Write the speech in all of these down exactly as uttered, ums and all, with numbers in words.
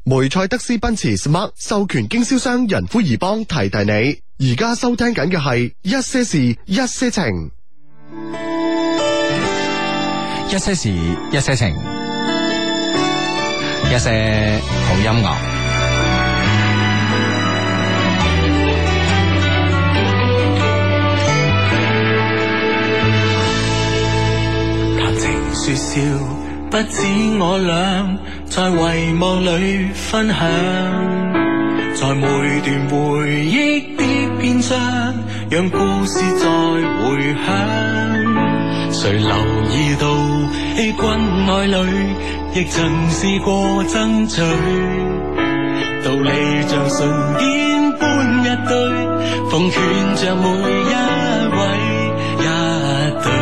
梅賽德斯奔馳 Smart 授權經銷商仁孚怡邦提提你，而家收聽緊嘅係一些事一些情， 一些事一些情，一些好音樂。 談情說笑，不止我倆在遺忘裏分享，在每段回憶的篇章，讓故事再回響。誰留意到欺君愛侶，亦曾試過爭取，道理像唇邊般一堆，奉勸着每一位一對。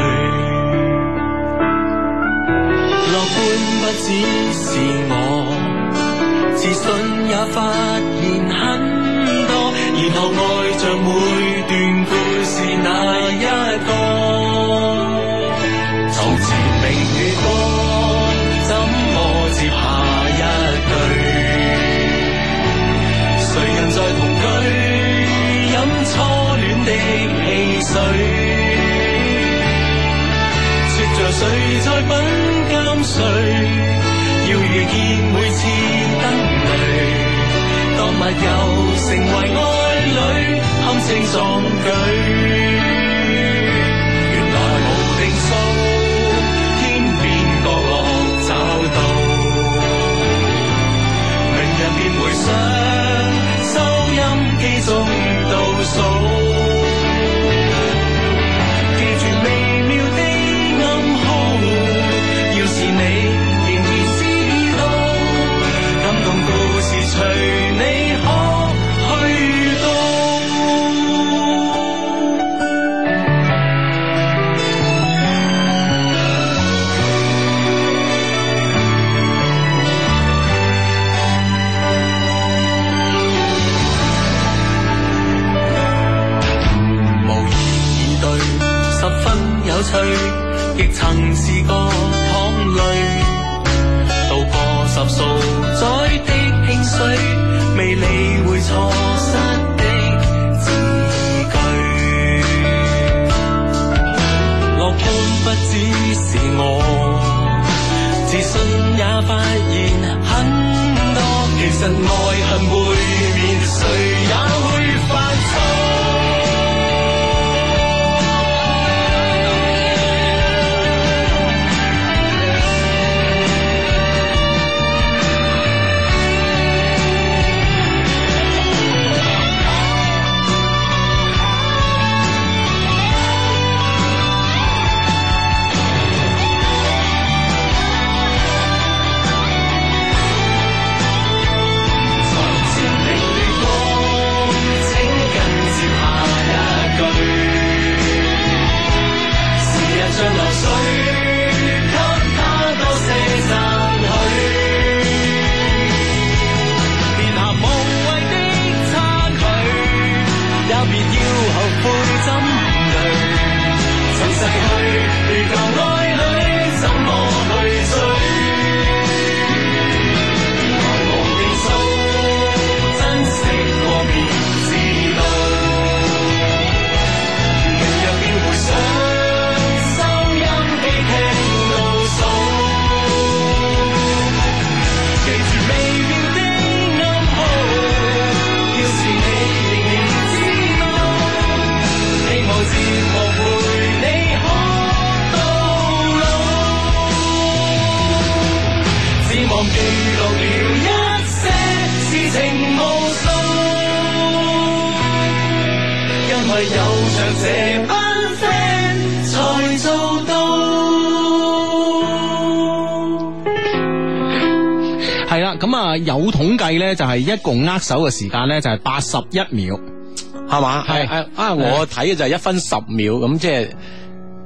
樂觀不只是我，自信也發現很多，然後愛着每段故事那一個。床前明月光，怎麼接下一句？誰人在同居，飲初戀的汽水？說着誰在品鑑誰？要遇見每次燈淚，當密友成為愛侶，堪稱壯舉。原來無定數，天邊角落找到，明日便回想，收音機中倒數，記住微妙的暗號，要是你仍然知道，感動故事隨你可去到。無言以對，十分有趣，亦曾試過淌淚，渡過十數載的興衰，未理會錯失的字句。樂觀不只是我，自信也發現很多，其實愛恨背面，誰也會犯錯。 係啦，咁啊有統計咧，就係一共握手嘅時間咧，就係八十一秒， 係嘛？ 係啊，我睇嘅就係一分十秒，咁即係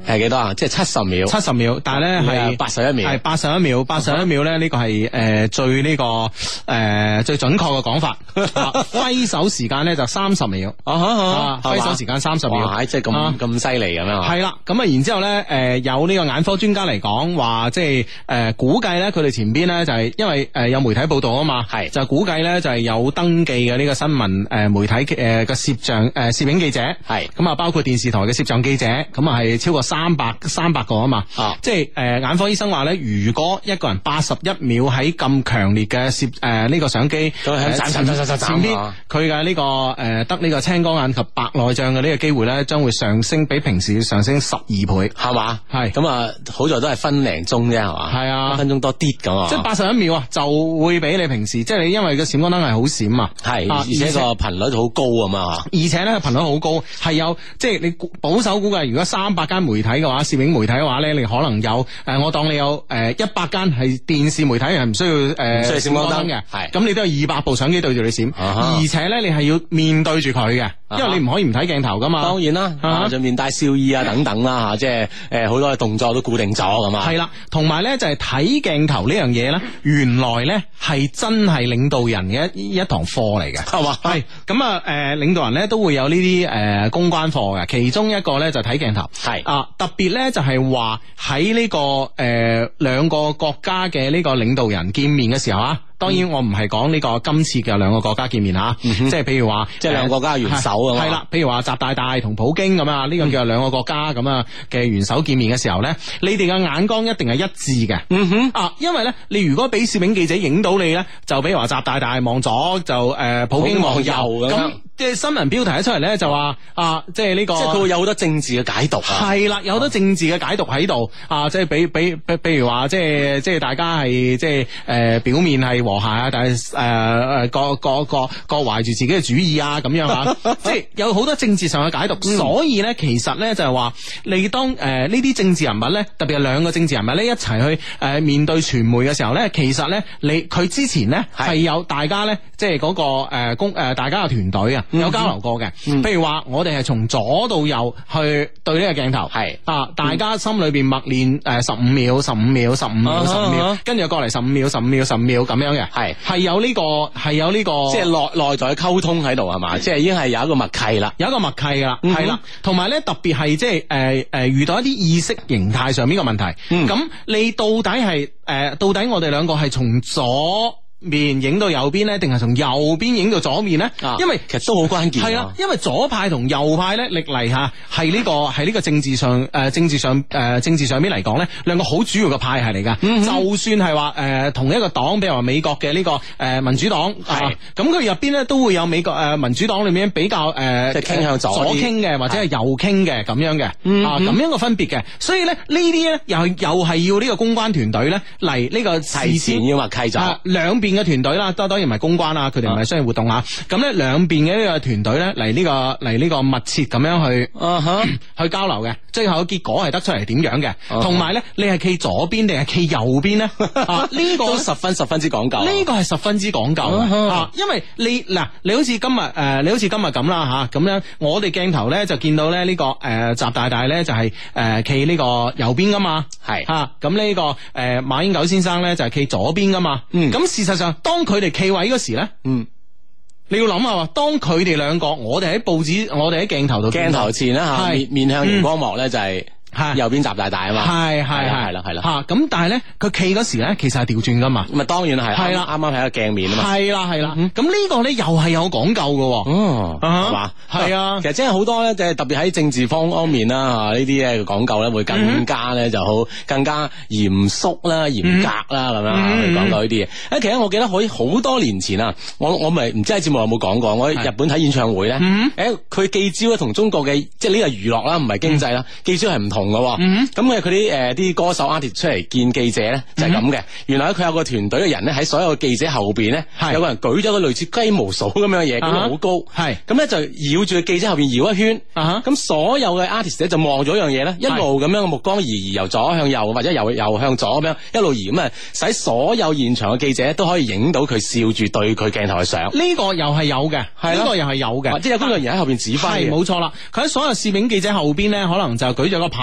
係幾多啊？即係七十秒， 七十秒，但係咧係八十一秒， 係八十一秒，八十一秒咧呢個係誒最呢個誒最準確嘅講法。揮手時間咧就三十秒，啊揮手時間三十秒， 即係咁咁犀利咁樣。 係啦，咁啊然之後咧誒有呢個眼科專家嚟講話，即係誒估計咧佢哋前邊咧就係因為誒有媒體報道啊嘛，係就估計咧就係有登記嘅呢個新聞誒媒體誒嘅攝像誒攝影記者，係咁啊包括電視台嘅攝像記者，咁啊係超過三百三百個啊嘛，即係誒眼科醫生話咧，如果一個人八十一秒喺咁強烈嘅攝誒呢個相機前邊佢嘅呢個誒得呢個青光眼及白內障嘅呢個機會咧，將會上升比平時要上升十二倍，係嘛？係咁啊，好在都係分零鐘啫，係嘛？係啊，一分鐘多啲咁啊，即係八十一秒啊，就會比你平時即係你因為個閃光燈係好閃啊，係而且個頻率好高啊嘛，而且咧頻率好高，係有即係你保守估計，如果三百間媒體嘅話，攝影媒體嘅話咧，你可能有誒，我當你有誒一百間係電視媒體係唔需要誒，需要閃光燈嘅，係咁你都有二百部相機對住你閃，而且咧你係要面對住佢嘅，因為你唔可以唔睇鏡頭噶嘛。當然啦，就面帶笑意啊等等啦吓，即係誒好多嘅動作都固定咗咁啊。係啦，同埋咧就係睇鏡頭呢樣嘢咧，原來咧係真係領導人嘅一一堂課嚟嘅，係嘛？係咁啊誒，領導人咧都會有呢啲誒公關課嘅，其中一個咧就睇鏡頭，係啊特別咧就係話喺呢個誒兩個國家嘅呢個領導人見面嘅時候啊。當然我唔係講呢個今次嘅兩個國家見面吓，嗯、即係譬如話，即係兩個國家元首啊，係啦，譬如話習大大同普京咁啊，呢、這個叫兩個國家咁啊嘅元首見面嘅時候咧，你哋嘅眼光一定係一致嘅，嗯哼，啊，因為咧，你如果俾攝影記者影到你咧，就比如話習大大望左，就誒、呃、普京望右咁。即係新聞標題一出嚟咧，就話啊，即係呢個，即係佢會有好多政治嘅解讀啊。係啦，有好多政治嘅解讀喺度啊，即係比比比，比如話，即係即係大家係即係誒、呃、表面係和諧啊，但係誒誒各各各各懷住自己嘅主意啊，咁樣啊，即係有好多政治上嘅解讀。嗯、所以咧，其實咧就係話，你當誒呢啲政治人物咧，特別係兩個政治人物咧一齊去誒、呃、面對傳媒嘅時候咧，其實咧你佢之前咧係有大家咧，即係嗰個誒公誒大家嘅團隊啊。有交流過嘅，嗯、譬如話我哋係從左到右去對呢個鏡頭，係啊，大家心裏邊默念誒十五秒、十五秒、十五秒、十五秒，跟住過嚟十五秒、十五秒、十五秒咁樣嘅，係係有呢個係有呢個，即係內內在溝通喺度係嘛，即係已經係有一個默契啦，有一個默契噶啦，係啦、嗯，同埋咧特別係即係誒誒遇到一啲意識形態上面嘅問題，咁、嗯、你到底係誒、呃、到底我哋兩個係從左面影到右邊咧，定係從右邊影到左面咧？啊、因為其實都好關鍵。係啊，因為左派同右派咧，歷嚟吓係呢個係呢個政治上誒、呃、政治上誒、呃、政治上邊嚟講咧，兩個好主要嘅派系嚟噶。嗯、哼就算係話誒同一個黨，比如話美國嘅呢、這個誒、呃、民主黨，係咁佢入邊咧都會有美國誒、呃、民主黨裏面比較誒即係傾向左左傾嘅，或者係右傾嘅咁樣嘅、嗯、哼啊咁樣嘅分別嘅。所以咧呢啲咧又又係要呢個公關團隊咧嚟呢個提前要默契咗兩邊嘅團隊啦，當當然唔係公關啦，佢哋唔係商業活動啊。咁咧兩邊嘅呢個團隊咧嚟呢個嚟呢個密切咁樣去、uh-huh. 去交流嘅，最後嘅結果係得出嚟點樣嘅。同埋咧，你係企左邊定係企右邊咧？啊，呢、這個都十分十分之講究。呢個係十分之講究、uh-huh. 啊，因為你嗱，你好似今日誒、呃，你好似今日咁啦吓，咁、啊、樣我哋鏡頭咧就見到咧、這、呢個誒習、呃、大大咧就係誒企呢個右邊噶嘛，係吓咁呢個誒、呃、馬英九先生咧就係企左邊噶嘛。嗯，咁事實上當當佢哋企位嗰時咧，嗯，你要諗下，當佢哋兩個，我哋喺報紙，我哋喺鏡頭度，鏡頭前啦吓，面面向熒光幕咧就係、是。係右邊習大大啊嘛，係係係啦係啦吓，咁但係咧佢企嗰時咧其實係調轉噶嘛，咁啊當然係係啦，啱啱喺個鏡面啊嘛，係啦係啦，咁呢個咧又係有講究噶，哦係嘛，係啊，其實真係好多咧，即係特別喺政治方方面啦吓，呢啲咧講究咧會更加咧就好更加嚴肅啦、嚴格啦咁樣去講究呢啲嘢。誒，其實我記得可以好多年前啊，我我咪唔知喺節目有冇講過，我喺日本睇演唱會咧，誒佢記招咧同中國嘅即係呢個娛樂啦，唔係經濟啦，記招係唔同。嘅，咁嘅佢啲誒啲歌手 artist 出嚟見記者咧就係咁嘅。原來佢有個團隊嘅人咧喺所有嘅記者後邊咧，有個人舉咗個類似雞毛掃咁樣嘅嘢，咁好高，係咁咧就繞住個記者後邊繞一圈，咁所有嘅 artist 咧就望咗樣嘢咧，一路咁樣嘅目光移移由左向右或者由右向左咁樣一路移，咁啊使所有現場嘅記者都可以影到佢笑住對佢鏡頭嘅相。呢個又係有嘅，呢個又係有嘅，即係有工作人員喺後邊指揮。係冇錯啦，佢喺所有攝影記者後邊咧，可能就舉咗個牌。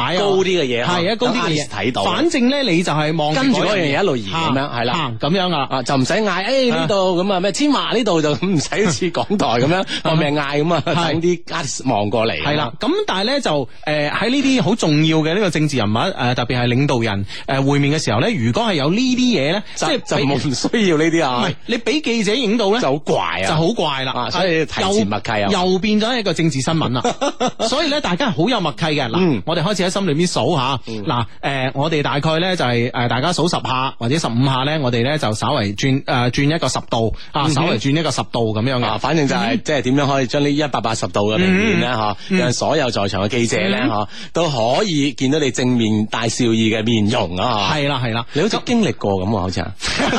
牌啊， 高啲嘅嘢， 係啊，高啲嘅嘢睇到。 反正咧，你就係望跟住嗰樣嘢一路移咁樣，係啦， 咁樣啊， 啊就唔使嗌，誒呢度咁啊咩千華呢度就唔使好似港台咁樣搏命嗌咁啊，等啲 artist 望過嚟。 係啦，咁但係咧就誒喺呢啲好重要嘅呢個政治人物誒，特別係領導人誒會面嘅時候咧，如果係有呢啲嘢咧，即係就冇唔需要呢啲啊。 唔係你俾記者影到咧， 就好怪啊， 就好怪啦。 所以提前默契啊， 又變咗一個政治新聞啦。所以咧，大家係好有默契嘅。嗱，我哋開始喺心裏邊數下。嗱，誒，我哋大概咧就係誒，大家數十下或者十五下咧，我哋咧就稍微轉誒轉一個十度啊，稍微轉一個十度咁樣嘅。 反正就係即係點樣可以將呢一百八十度嘅平面咧，嗬，讓所有在場嘅記者咧，嗬，都可以見到你正面帶笑意嘅面容啊！ 係啦係啦， 你好似經歷過咁喎，好似啊！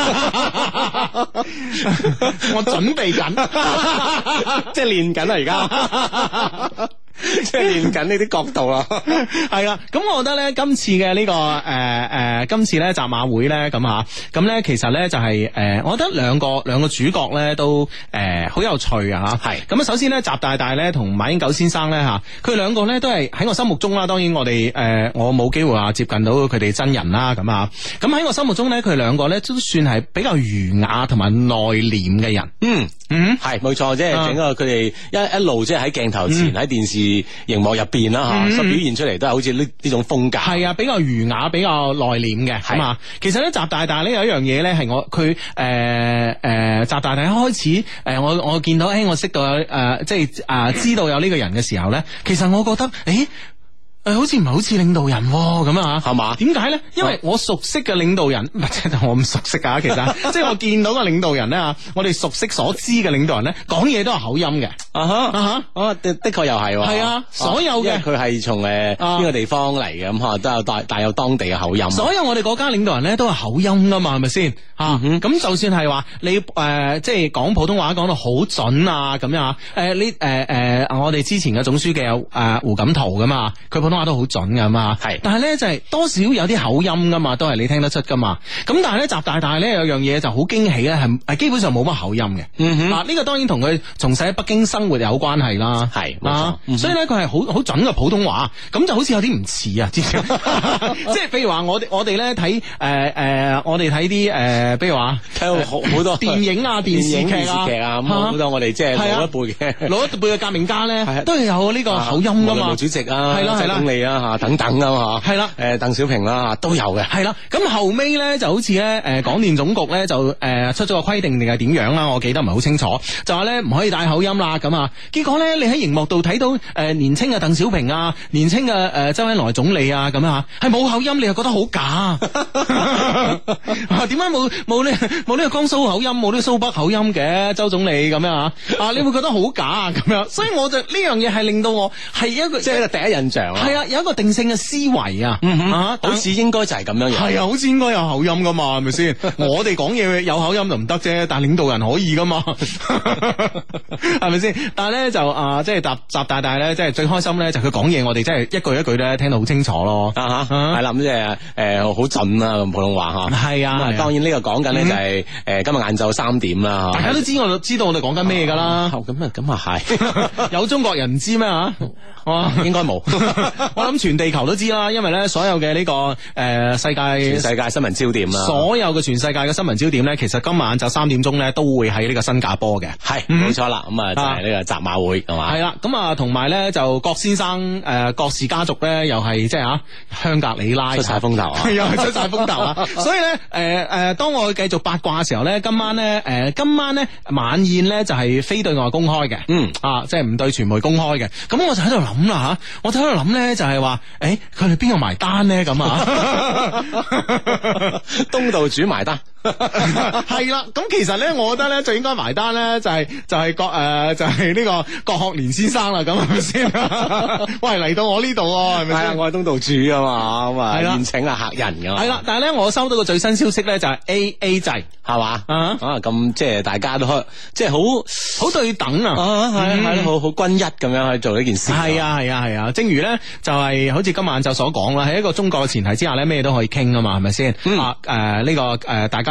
我準備緊， 即係練緊啦，而家。即係練緊呢啲角度啦， 係啦。咁我覺得咧，今次嘅呢、這個誒誒、呃呃，今次咧集馬會咧咁吓，咁咧其實咧就係、是、誒、呃，我覺得兩個兩個主角咧都誒好、呃、有趣啊吓。係咁啊，首先咧習大大咧同馬英九先生咧吓，佢兩個咧都係喺我心目中啦。當然我哋誒、呃、我冇機會話接近到佢哋真人啦咁啊。咁喺我心目中咧，佢哋兩個咧都算係比較儒雅同埋內斂嘅人。嗯嗯，係冇錯，即係整個佢哋一一路即係喺鏡頭前喺、嗯、電視熒幕入邊啦吓，所、嗯、表現出嚟都係好似呢呢種風格，係啊，比較儒雅，比較內斂嘅，係嘛。其實咧，習大大咧有一樣嘢咧，係我佢誒誒，習大大一開始誒、呃，我我見到誒、欸，我識到誒、呃，即係啊、呃，知道有呢個人嘅時候咧，其實我覺得誒。欸誒，好似唔係好似領導人咁啊，係嘛？點解咧？因為我熟悉嘅領導人，唔係即係我唔熟悉啊。其實即係我見到嘅領導人咧，我哋熟悉所知嘅領導人咧，講嘢都係口音嘅。啊哈啊哈，啊的的確又係。係啊，所有嘅佢係從誒邊個地方嚟嘅，咁吓都有帶帶有當地嘅口音。所有我哋國家領導人咧都係口音噶嘛，係咪先？吓咁就算係話你誒，即係講普通話講到好準啊，咁樣啊。誒，呢誒誒，我哋之前嘅總書記有誒胡錦濤噶嘛，佢普通話都好準噶嘛，係，但係咧就係、是、多少有啲口音噶嘛，都係你聽得出噶嘛。咁但係咧習大大咧有樣嘢就好驚喜咧，係係基本上冇乜口音嘅。嗯哼，啊呢、這個當然同佢從細喺北京生活有關係啦，係，啊，嗯、所以咧佢係好好準嘅普通話，咁就好似有啲唔似啊，知唔知？即係譬如話我哋我哋咧睇誒誒，我哋睇啲誒，比如話睇好好多電影啊、電視劇啊，咁好多我哋即係老一輩嘅老一輩嘅革命家咧，都係有呢個口音噶嘛，毛主席啊，係啦係啦。總理啊吓等等啊吓，係啦，誒鄧小平啦吓都有嘅，係啦。咁後尾咧就好似咧誒廣電總局咧就誒出咗個規定定係點樣啦？我記得唔係好清楚，就話咧唔可以帶口音啦咁啊。結果咧你喺熒幕度睇到誒年青嘅鄧小平啊，年青嘅誒周恩來總理啊咁啊，係冇口音，你又覺得好假。點解冇冇呢冇呢個江蘇口音，冇呢個蘇北口音嘅周總理咁樣啊？啊你會覺得好假啊咁樣，所以我就呢樣嘢係令到我係一個即係一個第一印象啊。係啊，有一個定性嘅思維啊，嗯哼啊，好似應該就係咁樣樣。係啊，好似應該有口音噶嘛，係咪先？我哋講嘢有口音就唔得啫，但係領導人可以噶嘛，係咪先？但係咧就啊，即係習習大大咧，即係最開心咧，就佢講嘢，我哋真係一句一句咧聽得好清楚咯。啊哈，係啦，咁即係誒好準啊，咁普通話吓。係啊，當然呢個講緊咧就係誒今日晏晝三點啦。大家都知我知道我哋講緊咩噶啦。咁啊咁啊係，有中國人唔知咩吓？哇，應該冇。我諗全地球都知啦，因為咧所有嘅呢、這個誒、呃、世界全世界新聞焦點啦，所有嘅全世界嘅新聞焦點咧，其實今晚就三點鐘咧都會喺呢個新加坡嘅，係冇錯啦。咁啊就係呢個習馬會係嘛，係啦。咁啊同埋咧就郭先生誒、呃、郭氏家族咧又係即係啊香格里拉出晒風頭啊，又係出晒風頭啊。所以咧誒誒，當我繼續八卦嘅時候咧，今晚咧誒、呃、今晚咧晚宴咧就係非對外公開嘅，嗯啊即係唔對傳媒公開嘅。咁我就喺度諗啦吓，我就喺度諗咧就係話誒佢哋邊個埋單咧咁啊？東道主埋單。係啦，咁其實咧，我覺得咧，最應該埋單咧，就係就係郭誒，就係呢個郭學年先生啦，咁係咪先？喂，嚟到我呢度，係咪先？我係東道主啊嘛，咁啊，宴請啊客人噶嘛。係啦，但係咧，我收到個最新消息咧，就係 A A 制，係嘛？啊，咁即係大家都即係好好對等啊，係係好好均一咁樣去做呢件事。係啊係啊係啊，正如咧就係好似今晚就所講啦，喺一個中國嘅前提之下咧，咩都可以傾啊嘛，係咪先？啊誒呢個誒大家。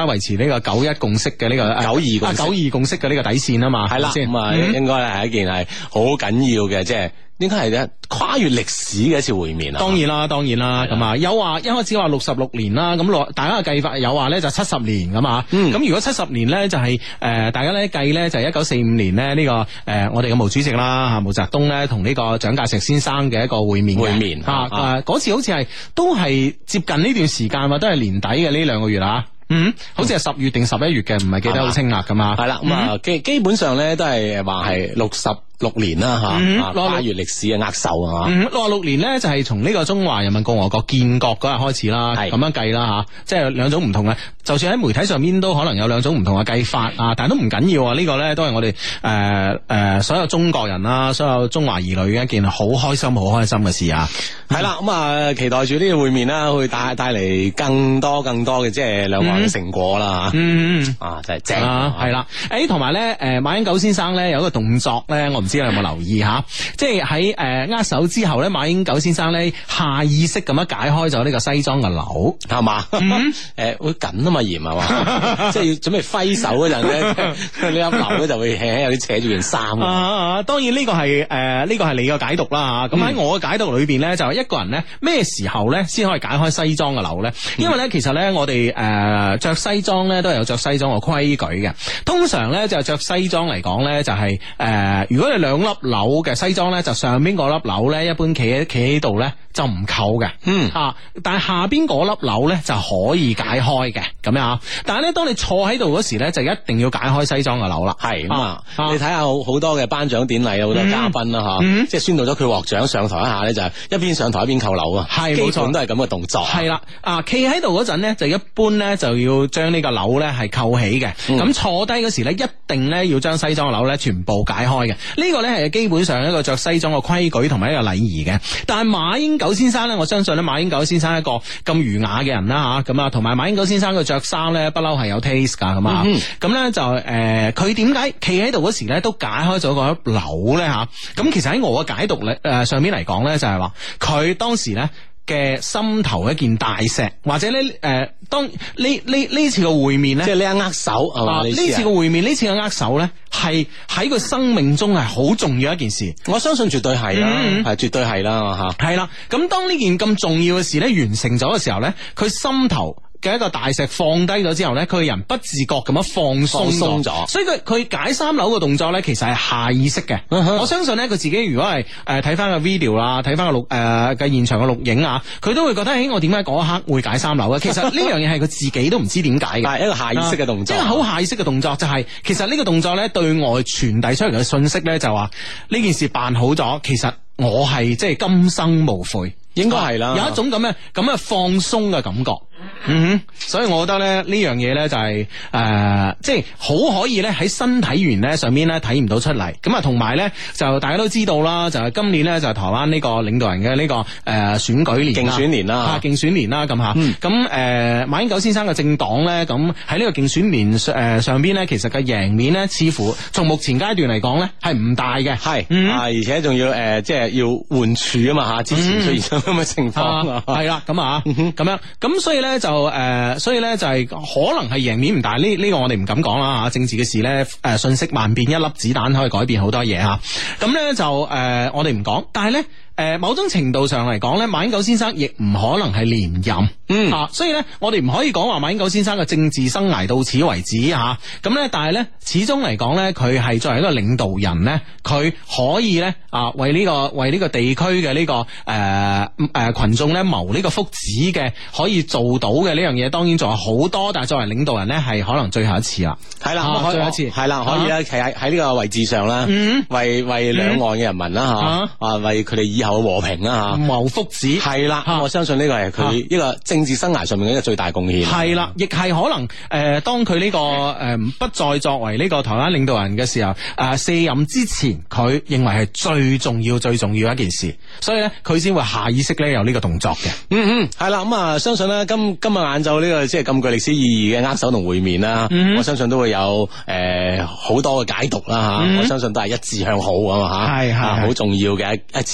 維持呢個九一共識嘅呢個九二共識九二共識嘅呢個底線啊嘛， 係啦，咁啊應該咧係一件係好緊要嘅，即係。應該係咧跨越歷史嘅一次會面啊！ 當然啦，當然啦，咁啊有話一開始話六十六年啦，咁落大家嘅計法有話咧就七十年咁啊，咁、嗯、如果七十年咧就係、是、誒、呃、大家咧計咧就係一九四五年咧呢、這個誒、呃、我哋嘅毛主席啦吓毛澤東咧同呢個蔣介石先生嘅一個會面會面吓誒嗰次好似係都係接近呢段時間或都係年底嘅呢兩個月啊。嗯，好似係十月定十一月嘅，唔係記得好清啦，咁啊， 係啦，咁啊基基本上咧都係話係六十六年啦吓，跨越歷史嘅握手啊， 六十六年咧就係從呢個中華人民共和國建國嗰日開始啦，咁樣計啦吓，即係兩種唔同嘅，就算喺媒體上面都可能有兩種唔同嘅計法啊，但係都唔緊要啊，呢個咧都係我哋誒誒所有中國人啦，所有中華兒女嘅一件好開心、好開心嘅事啊， 係啦，咁啊期待住呢個會面啦，會帶帶嚟更多更多嘅即係兩岸嘅成果啦，嗯啊真係正啊， 係啦，誒同埋咧誒馬英九先生咧有一個動作咧，我唔知你有冇留意吓，即係喺誒握手之後咧，馬英九先生咧下意識咁樣解開咗呢個西裝嘅紐， 係嘛？誒會緊啊嘛，嚴係嘛？即係要準備揮手嗰陣咧，呢粒紐咧就會輕輕有啲扯住件衫。 啊，當然呢個係誒呢個係你嘅解讀啦吓。咁喺我嘅解讀裏邊咧，就係一個人咧咩時候咧先可以解開西裝嘅紐咧？因為咧其實咧我哋誒着西裝咧都係有着西裝嘅規矩嘅。通常咧就着西裝嚟講咧就係誒如果你兩粒紐嘅西裝咧，就上邊嗰粒紐咧，一般企喺企喺度咧就唔扣嘅，嗯啊，但係下邊嗰粒紐咧就可以解開嘅，咁樣啊。但係咧，當你坐喺度嗰時咧，就一定要解開西裝嘅紐啦。 係咁啊，你睇下好好多嘅頒獎典禮，好多嘉賓啦，吓、嗯，即係宣佈咗佢獲獎上台一下咧，就係一邊上台一邊扣紐啊。係，冇錯，都係咁嘅動作。係啦，啊，企喺度嗰陣咧，就一般咧就要將呢個紐咧係扣起嘅。咁、嗯、坐低嗰時咧，一定咧要將西裝嘅紐咧全部解開嘅。呢、這個咧係基本上一個着西裝嘅規矩同埋一個禮儀嘅。但係馬英九先生咧，我相信咧馬英九先生一個咁儒雅嘅人啦吓，咁啊同埋馬英九先生佢着衫咧不嬲係有 taste 噶，咁啊咁咧就誒佢點解企喺度嗰時咧都解開咗個紐咧吓？咁其實喺我嘅解讀咧誒上邊嚟講咧就係話佢當時咧嘅心頭一件大石，或者咧誒、呃，當呢呢呢次嘅會面咧，即係呢一握手係嘛？呢、啊、次嘅會面，呢次嘅握手咧，係喺佢生命中係好重要一件事。 我相信絕對係啦，係、嗯、絕對係啦吓。係啦，咁當呢件咁重要嘅事咧完成咗嘅時候咧，佢心頭嘅一個大石放低咗之後咧，佢個人不自覺咁樣放鬆咗，所以佢佢解衫紐嘅動作咧，其實係下意識嘅。Uh-huh. 我相信咧，佢自己如果係誒睇翻個 video 啦，睇翻個錄誒嘅現場嘅錄影啊，佢都會覺得，誒，我點解嗰一刻會解衫紐嘅？其實呢樣嘢係佢自己都唔知點解嘅， 係一個下意識嘅動作， 即係好下意識嘅動作，就係、是、其實呢個動作咧對外傳遞出嚟嘅信息咧，就話呢件事辦好咗，其實我係即係今生無悔。 應該係啦， 有一種咁嘅咁嘅放鬆嘅感覺，嗯哼，所以我覺得咧呢樣嘢咧就係、是、誒、呃，即係好可以咧喺身體語言咧上面咧睇唔到出嚟，咁啊同埋咧就大家都知道啦，就係、是、今年咧就係、是、台灣呢個領導人嘅呢、這個誒、呃、選舉年競選年啦， 啊競選年啦咁吓，咁誒、嗯、馬英九先生嘅政黨咧，咁喺呢個競選年誒、呃、上邊咧，其實嘅贏面咧，似乎從目前階段嚟講咧係唔大嘅，係、嗯、 啊，而且仲要誒、呃、即係要換柱啊嘛吓，之前出現咗咁嘅情況啊， 係啦咁啊，咁樣咁所以咧就誒、呃，所以咧就係、是、可能係贏面唔大，呢呢、這個我哋唔敢講啦吓，政治嘅事咧誒、呃，信息萬變，一粒子彈可以改變好多嘢吓，咁咧就誒、呃，我哋唔講，但係咧。誒，某種程度上嚟講咧，馬英九先生亦唔可能係連任，嗯啊，所以咧，我哋唔可以講話馬英九先生嘅政治生涯到此為止吓，咁咧，但係咧，始終嚟講咧，佢係作為一個領導人咧，佢可以咧啊，為呢個為呢個地區嘅呢個誒誒群眾咧謀呢個福祉嘅，可以做到嘅呢樣嘢，當然仲有好多，但係作為領導人咧，係可能最後一次啦，係啦，啊、最後一次， 係啦，可以咧，企喺喺呢個位置上啦，嗯，為為兩岸嘅人民啦吓，啊，啊，為佢哋以後有和平啦吓， 謀福祉係啦，我相信呢個係佢一個政治生涯上面嘅一個最大貢獻。 係啦，亦係可能誒、呃，當佢呢、這個誒、呃、不再作為呢個台灣領導人嘅時候，誒、呃、卸任之前，佢認為係最重要、最重要一件事，所以咧佢先會下意識咧有呢個動作嘅。 嗯嗯，係啦，咁啊，相信咧今今日晏晝呢個即係咁具歷史意義嘅握手同會面啦、嗯，我相信都會有誒好、呃、多嘅解讀啦吓、嗯，我相信都係一致向好啊嘛吓，係係好重要嘅一一次會面。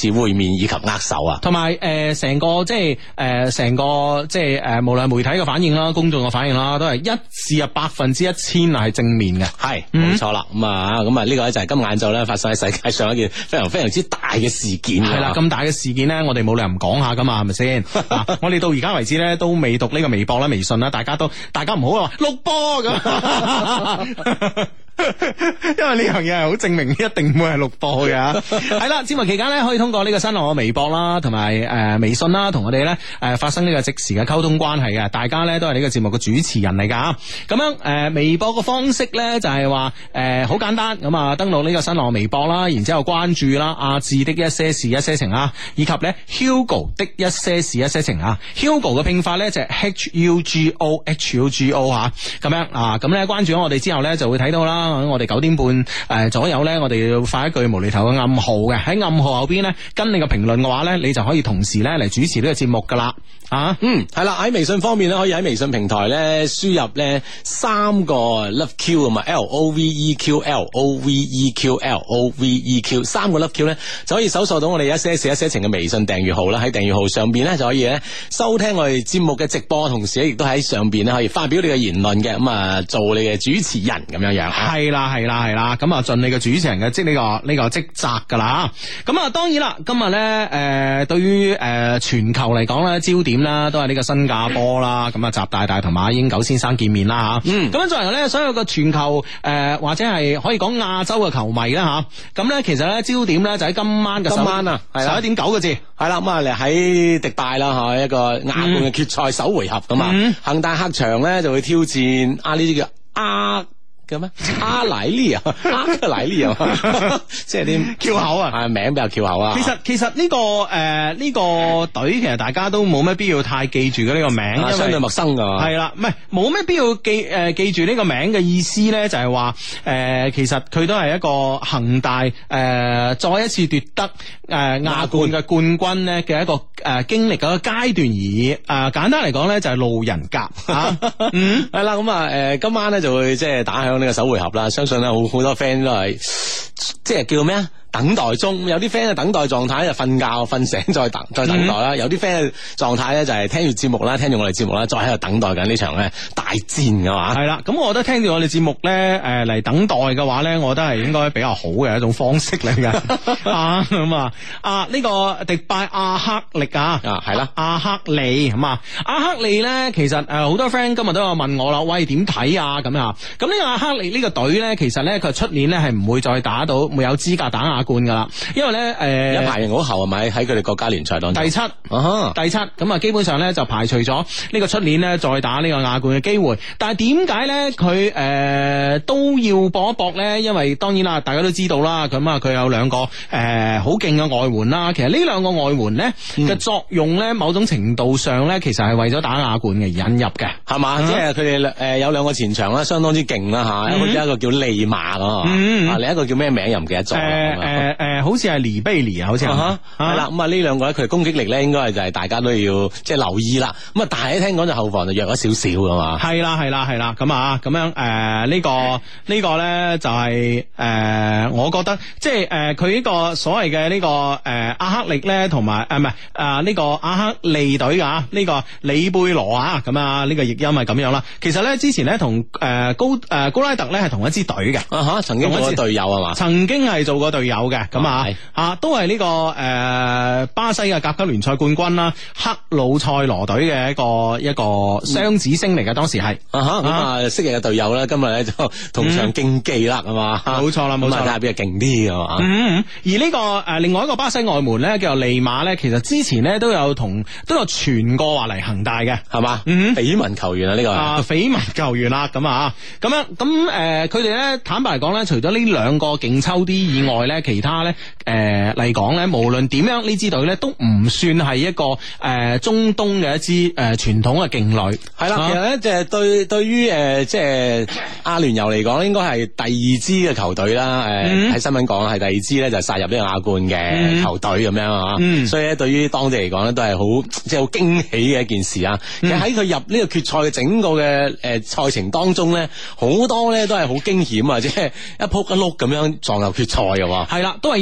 面以及握手啊， 同埋誒成個即係誒成個即係誒無論媒體嘅反應啦，公眾嘅反應啦，都係一致啊百分之一千係正面嘅， 係冇錯啦。咁啊咁啊呢個咧就係今晏晝咧發生喺世界上一件非常非常之大嘅事件。 係啦，咁大嘅事件咧，我哋冇理由唔講下噶嘛，係咪先？我哋到而家為止咧都未讀呢個微博啦、微信啦，大家都大家唔好話錄播咁。因為呢樣嘢係好證明一定會係錄播嘅。係啦，節目期間咧可以通過呢個新浪嘅微博啦，同埋誒微信啦，同我哋咧誒發生呢個即時嘅溝通關係嘅。大家咧都係呢個節目嘅主持人嚟噶。咁樣誒、呃、微博嘅方式咧就係話誒好簡單，咁啊登錄呢個新浪微博啦，然之後關注啦阿志的一些事一些情啊，以及咧 Hugo 的一些事一些情啊。Hugo 嘅拼法咧就係 H U G O H U G O 吓，咁樣啊，咁咧關注咗我哋之後咧就會睇到啦。我哋九點半誒、呃、左右咧，我哋要發一句無厘頭嘅暗號嘅，喺暗號後邊咧跟你嘅評論嘅話咧，你就可以同時咧嚟主持呢個節目噶啦。啊， 嗯，係啦，喺微信方面咧，可以喺微信平台咧輸入咧三個 Love Q 啊嘛 ，L O V E Q，L O V E Q，L O V E Q， 三個 Love Q 咧就可以搜索到我哋一些事一些情嘅微信訂閱號啦。喺訂閱號上邊咧就可以咧收聽我哋節目嘅直播，同時咧亦都喺上邊咧可以發表你嘅言論嘅，咁啊做你嘅主持人咁樣樣。 係啦係啦係啦，咁啊盡你嘅主持人嘅職呢個呢個職責噶啦。咁啊當然啦，今日咧誒對於誒全球嚟講咧焦點啦，都係呢個新加坡啦，咁啊習大大同馬英九先生見面啦吓，嗯，咁樣作為咧所有嘅全球誒、呃、或者係可以講亞洲嘅球迷啦吓，咁咧其實咧焦點咧就喺今晚嘅今晚啊， 十一點九個字， 係啦，咁啊嚟喺迪拜啦吓，一個亞冠嘅決賽首回合咁啊，恒、嗯、大客場咧就會挑戰啊呢啲叫阿。叫咩？阿萊利啊，阿萊利啊，即係啲翹口啊， 係名比較翹口啊。 其實其實呢、這個誒呢、呃這個隊其實大家都冇咩必要太記住嘅呢個名， 啊、因為相對陌生噶。 係啦，唔係冇咩必要記誒、呃、記住呢個名嘅意思咧，就係話誒其實佢都係一個恒大誒、呃、再一次奪得誒亞、呃、冠嘅冠軍咧嘅一個誒、呃、經歷嘅一個階段而已。誒、呃、簡單嚟講咧就係路人甲啊，嗯係啦，咁啊誒今晚咧就會即係打響呢個首回合啦，相信咧好好多 friend 都係即係叫咩啊？等待中，有啲 friend 嘅等待狀態就瞓覺瞓醒再等再等待啦，嗯、有啲 friend 嘅狀態咧就係聽住節目啦，聽住我哋節目啦，再喺度等待緊呢場咧大戰噶嘛。係啦， 咁我覺得聽住我哋節目咧，誒嚟等待嘅話咧，我覺得係應該比較好嘅一種方式嚟嘅。啊咁啊啊呢、這個迪拜阿克力啊啊係啦， 阿克利咁啊，阿克利咧其實誒好多 friend 今日都有問我啦，喂點睇啊咁啊？咁呢個阿克利呢個隊咧，其實咧佢出年咧係唔會再打到冇有資格打亞冠噶啦，因為咧誒， 一排人好後係咪喺佢哋國家聯賽當中第七，啊、第七咁啊，基本上咧就排除咗呢個出年咧再打呢個亞冠嘅機會。但係點解咧佢誒都要搏一搏咧？因為當然啦，大家都知道啦，咁啊佢有兩個誒好勁嘅外援啦。其實呢兩個外援咧嘅、嗯、作用咧，某種程度上咧，其實係為咗打亞冠嘅引入嘅，係嘛？ 嗯、即係佢哋誒有兩個前場啦，相當之勁啦吓，一個一個叫利馬啊，嗯、啊另一個叫咩名又唔記得咗。誒誒誒，好似係尼貝尼啊，好似係啦。咁啊呢兩個咧，佢攻擊力咧，應該係就係大家都要即係留意啦。咁啊，但係聽講就後防就弱咗少少噶嘛。 係啦係啦係啦，咁啊咁樣誒、呃這個這個、呢個呢個咧就係、是、誒、呃，我覺得即係誒佢呢個所謂嘅呢個誒、呃、阿克力咧，同埋誒唔係啊呢個阿克利隊啊，呢、這個里貝羅啊，咁啊呢個譯音係咁樣啦。其實咧之前咧同誒高誒、呃、高拉特咧係同一支隊嘅， 啊吓曾經做過隊友係嘛？ 曾經係做過隊友嘅，咁啊啊都係呢、這個誒、呃、巴西嘅甲級聯賽冠軍啦，克魯塞羅隊嘅一個一個雙子星嚟嘅，當時係啊吓咁啊昔日嘅隊友咧，今日咧就同場競技啦，係嘛、嗯？ 冇錯啦，冇錯， 睇下邊個勁啲係嘛？ 嗯，而呢、這個誒、呃、另外一個巴西外門咧，叫做利馬咧，其實之前咧都有同都有傳過話嚟恒大嘅，係嘛？嗯， 緋聞球員啊呢個啊緋聞球員啦，咁啊咁樣咁誒，佢哋咧坦白嚟講咧，除咗呢兩個勁抽啲以外咧，其他咧誒嚟講咧，無論點樣呢支隊咧都唔算係一個誒、呃、中東嘅一支誒傳、呃、統嘅勁旅， 係啦。其實咧，就係對對於誒即係阿聯酋嚟講，應該係第二支嘅球隊啦。誒、呃、喺、嗯、新聞講係第二支咧，就殺入呢個亞冠嘅球隊咁樣啊。嗯、所以咧，對於當地嚟講咧，都係好即係好驚喜嘅一件事啊。嗯、其實喺佢入呢個決賽嘅整個嘅誒賽程當中咧，好多咧都係好驚險啊，即係一撲一碌咁樣撞入決賽嘅喎。 係啦，都係以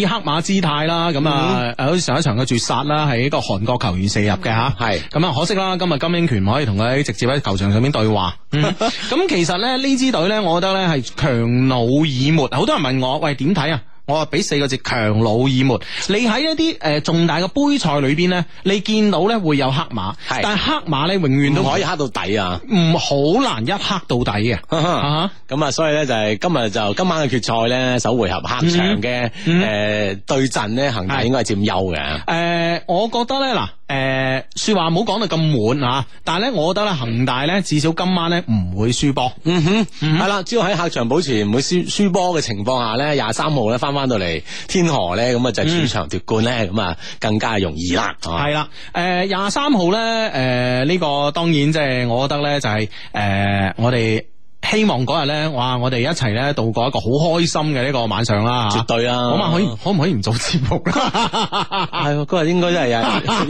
黑馬姿態啦，咁啊，好似上一場嘅絕殺啦，係一個韓國球員射入嘅吓，係咁啊，可惜啦，今日金英權唔可以同佢直接喺球場上面對話。咁、嗯、其實咧呢支隊咧，我覺得咧係強弩耳目。好多人問我，喂，點睇啊？我話俾四個字，強弩耳目。你喺一啲誒、呃、重大嘅杯賽裏邊咧，你見到咧會有黑馬，但係黑馬咧永遠都唔可以黑到底啊， 唔好難一黑到底嘅。 咁啊，所以咧就係今日就今晚嘅決賽咧，首回合客場嘅誒對陣咧，恒大應該係佔優嘅。誒、 呃，我覺得咧嗱。誒、呃，說話冇講到咁滿啊，但係咧，我覺得咧，恒大咧至少今晚咧唔會輸波。嗯哼，係啦、嗯，只要喺客場保持唔會輸輸波嘅情況下咧，廿三號咧翻翻到嚟天河咧，咁啊就主場奪冠咧，咁啊、嗯、更加容易啦。係啦，誒廿三號咧，誒、呃、呢、這個當然即係我覺得咧就係、是、誒、呃、我哋。希望嗰日咧，哇！我哋一齊咧度過一個好開心嘅呢個晚上啦，絕對啊！嗰晚可以可唔可以唔做節目咧？係嗰日應該真係有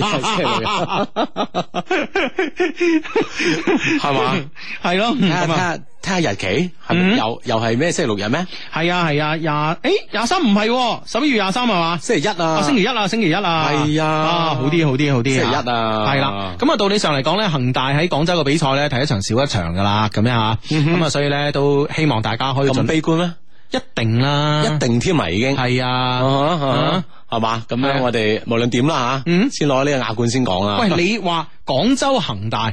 係嘛？係咯，睇下睇下睇下日期，係咪又又係咩星期六日咩？係啊係啊，廿誒廿三唔係十一月廿三係嘛？星期一啊，星期一啊，星期一啊，係啊，好啲好啲好啲，星期一啊，係啦。咁啊，道理上嚟講咧，恒大喺廣州嘅比賽咧，睇一場少一場噶啦，咁樣吓。咁啊，所以咧都希望大家可以咁悲觀咩？一定啦，一定添埋已經係啊，係嘛？咁樣我哋無論點啦吓，嗯，先攞呢個亞冠先講啦。喂，你話廣州恒大，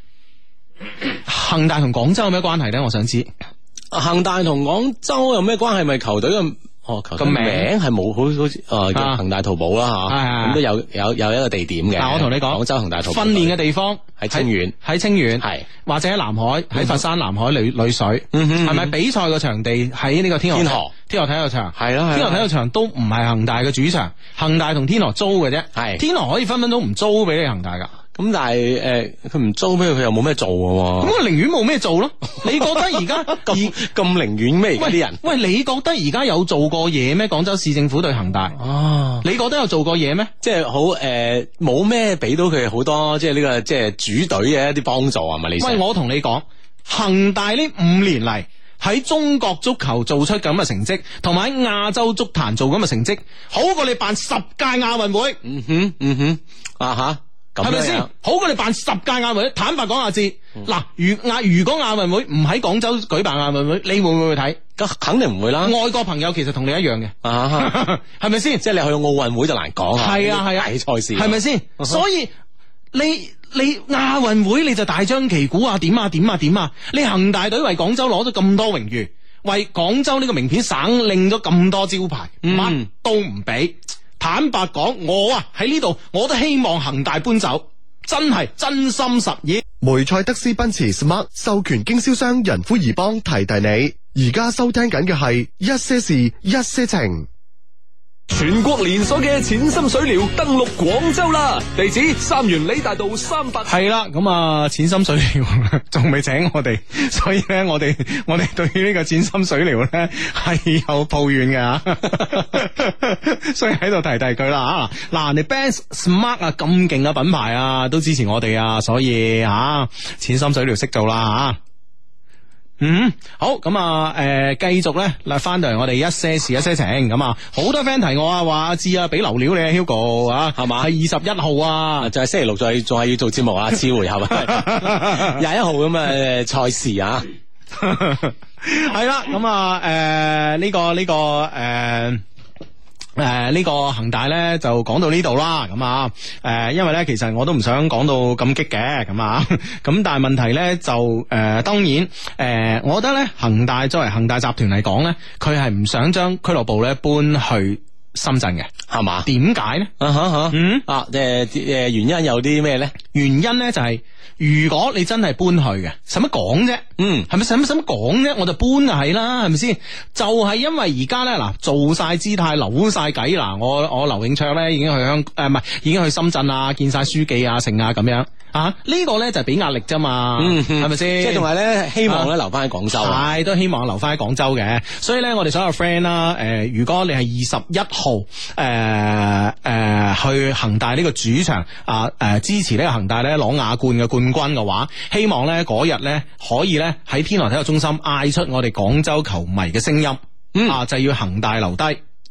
恒大同廣州有咩關係咧？我想知。恒大同廣州有咩關係？咪球隊嘅？哦，個名係冇好好似誒叫恒大淘寶啦吓，咁都有有有一個地點嘅。但我同你講，廣州恒大淘寶訓練嘅地方喺清遠，喺清遠係或者喺南海，喺佛山南海裏裏水，係咪比賽嘅場地喺呢個天河？天河天河體育場係咯，天河體育場都唔係恒大嘅主場，恒大同天河租嘅啫，係天河可以分分鐘唔租俾你恒大噶。咁但係誒，佢唔租俾佢，佢又冇咩做嘅。咁佢寧願冇咩做咯？你覺得而家咁咁寧願咩？而家啲人喂，你覺得而家有做過嘢咩？廣州市政府對恒大哦，你覺得有做過嘢咩？即係好誒，冇咩俾到佢好多，即係呢個即係主隊嘅一啲幫助係咪？你喂，我同你講，恒大呢五年嚟喺中國足球做出咁嘅成績，同埋喺亞洲足壇做咁嘅成績，好過你辦十屆亞運會。嗯哼，嗯哼，啊吓。係咪先？好過你辦十屆亞運會。坦白講下知，嗱、嗯，如亞如果亞運會唔喺廣州舉辦亞運會，你會唔會去睇？咁肯定唔會啦。外國朋友其實同你一樣嘅，係咪先？即係你去奧運會就難講啊。係啊係啊，大賽事係咪先？所以你你亞運會你就大張旗鼓啊，點啊點啊點啊！你恒大隊為廣州攞咗咁多榮譽，為廣州呢個名片省拎咗咁多招牌，乜、嗯、都唔俾。坦白講，我啊喺呢度，我都希望恒大搬走，真係真心實意。 梅賽德斯奔馳 Smart 授權經銷商仁孚怡邦提提你，而家收聽緊嘅係一些事一些情。 全國連鎖嘅淺心水療登陸廣州啦！地址三元里大道三百。 係啦，咁啊，淺心水療仲未請我哋，所以咧，我哋我哋對於呢個淺心水療咧係有抱怨嘅，所以喺度提提佢啦吓。嗱，你 Benz Smart 啊咁勁嘅品牌啊，都支持我哋啊，所以吓淺心水療識做啦吓。嗯，好咁啊，誒、呃，繼續咧，嗱，翻到嚟我哋一些事一些情，咁啊，好多 friend 提我啊，話阿志啊，俾流料你啊 Hugo 啊，係嘛，係二十一號啊，就係星期六，再仲係要做節目啊，次回合啊，廿一號咁嘅賽事啊，係啦，咁啊，誒、呃，呢、這個呢、這個誒。呃誒，呃這個、呢個恒大咧就講到呢度啦，咁啊，誒、呃，因為咧其實我都唔想講到咁激嘅，咁啊，咁但係問題咧就誒、呃，當然誒、呃，我覺得咧恒大作為恒大集團嚟講咧，佢係唔想將俱樂部咧搬去深圳嘅，係嘛？點解咧？啊哈哈，嗯啊，誒誒，原因有啲咩咧？原因咧就係、是。如果你真係搬去嘅，使乜講啫？嗯，係咪使乜使乜講啫？我就搬就係啦，係咪先？就係、是、因為而家咧嗱，做晒姿態，扭晒計嗱，我我劉永灼咧已經去香誒，唔係已經去深圳啊，見晒書記啊，成啊咁樣啊，這個、呢個咧就係俾壓力啫嘛，係咪先？即係仲係咧，希望咧留翻喺廣州，係、啊、都希望留翻喺廣州嘅。所以咧，我哋所有 friend 啦，誒，如果你係二十一號誒誒、呃呃、去恒大呢個主場啊誒、呃、支持呢個恒大咧攞亞冠嘅冠軍嘅話，希望咧嗰日咧可以咧喺天河體育中心嗌出我哋廣州球迷嘅聲音，嗯、啊就要恒大留低。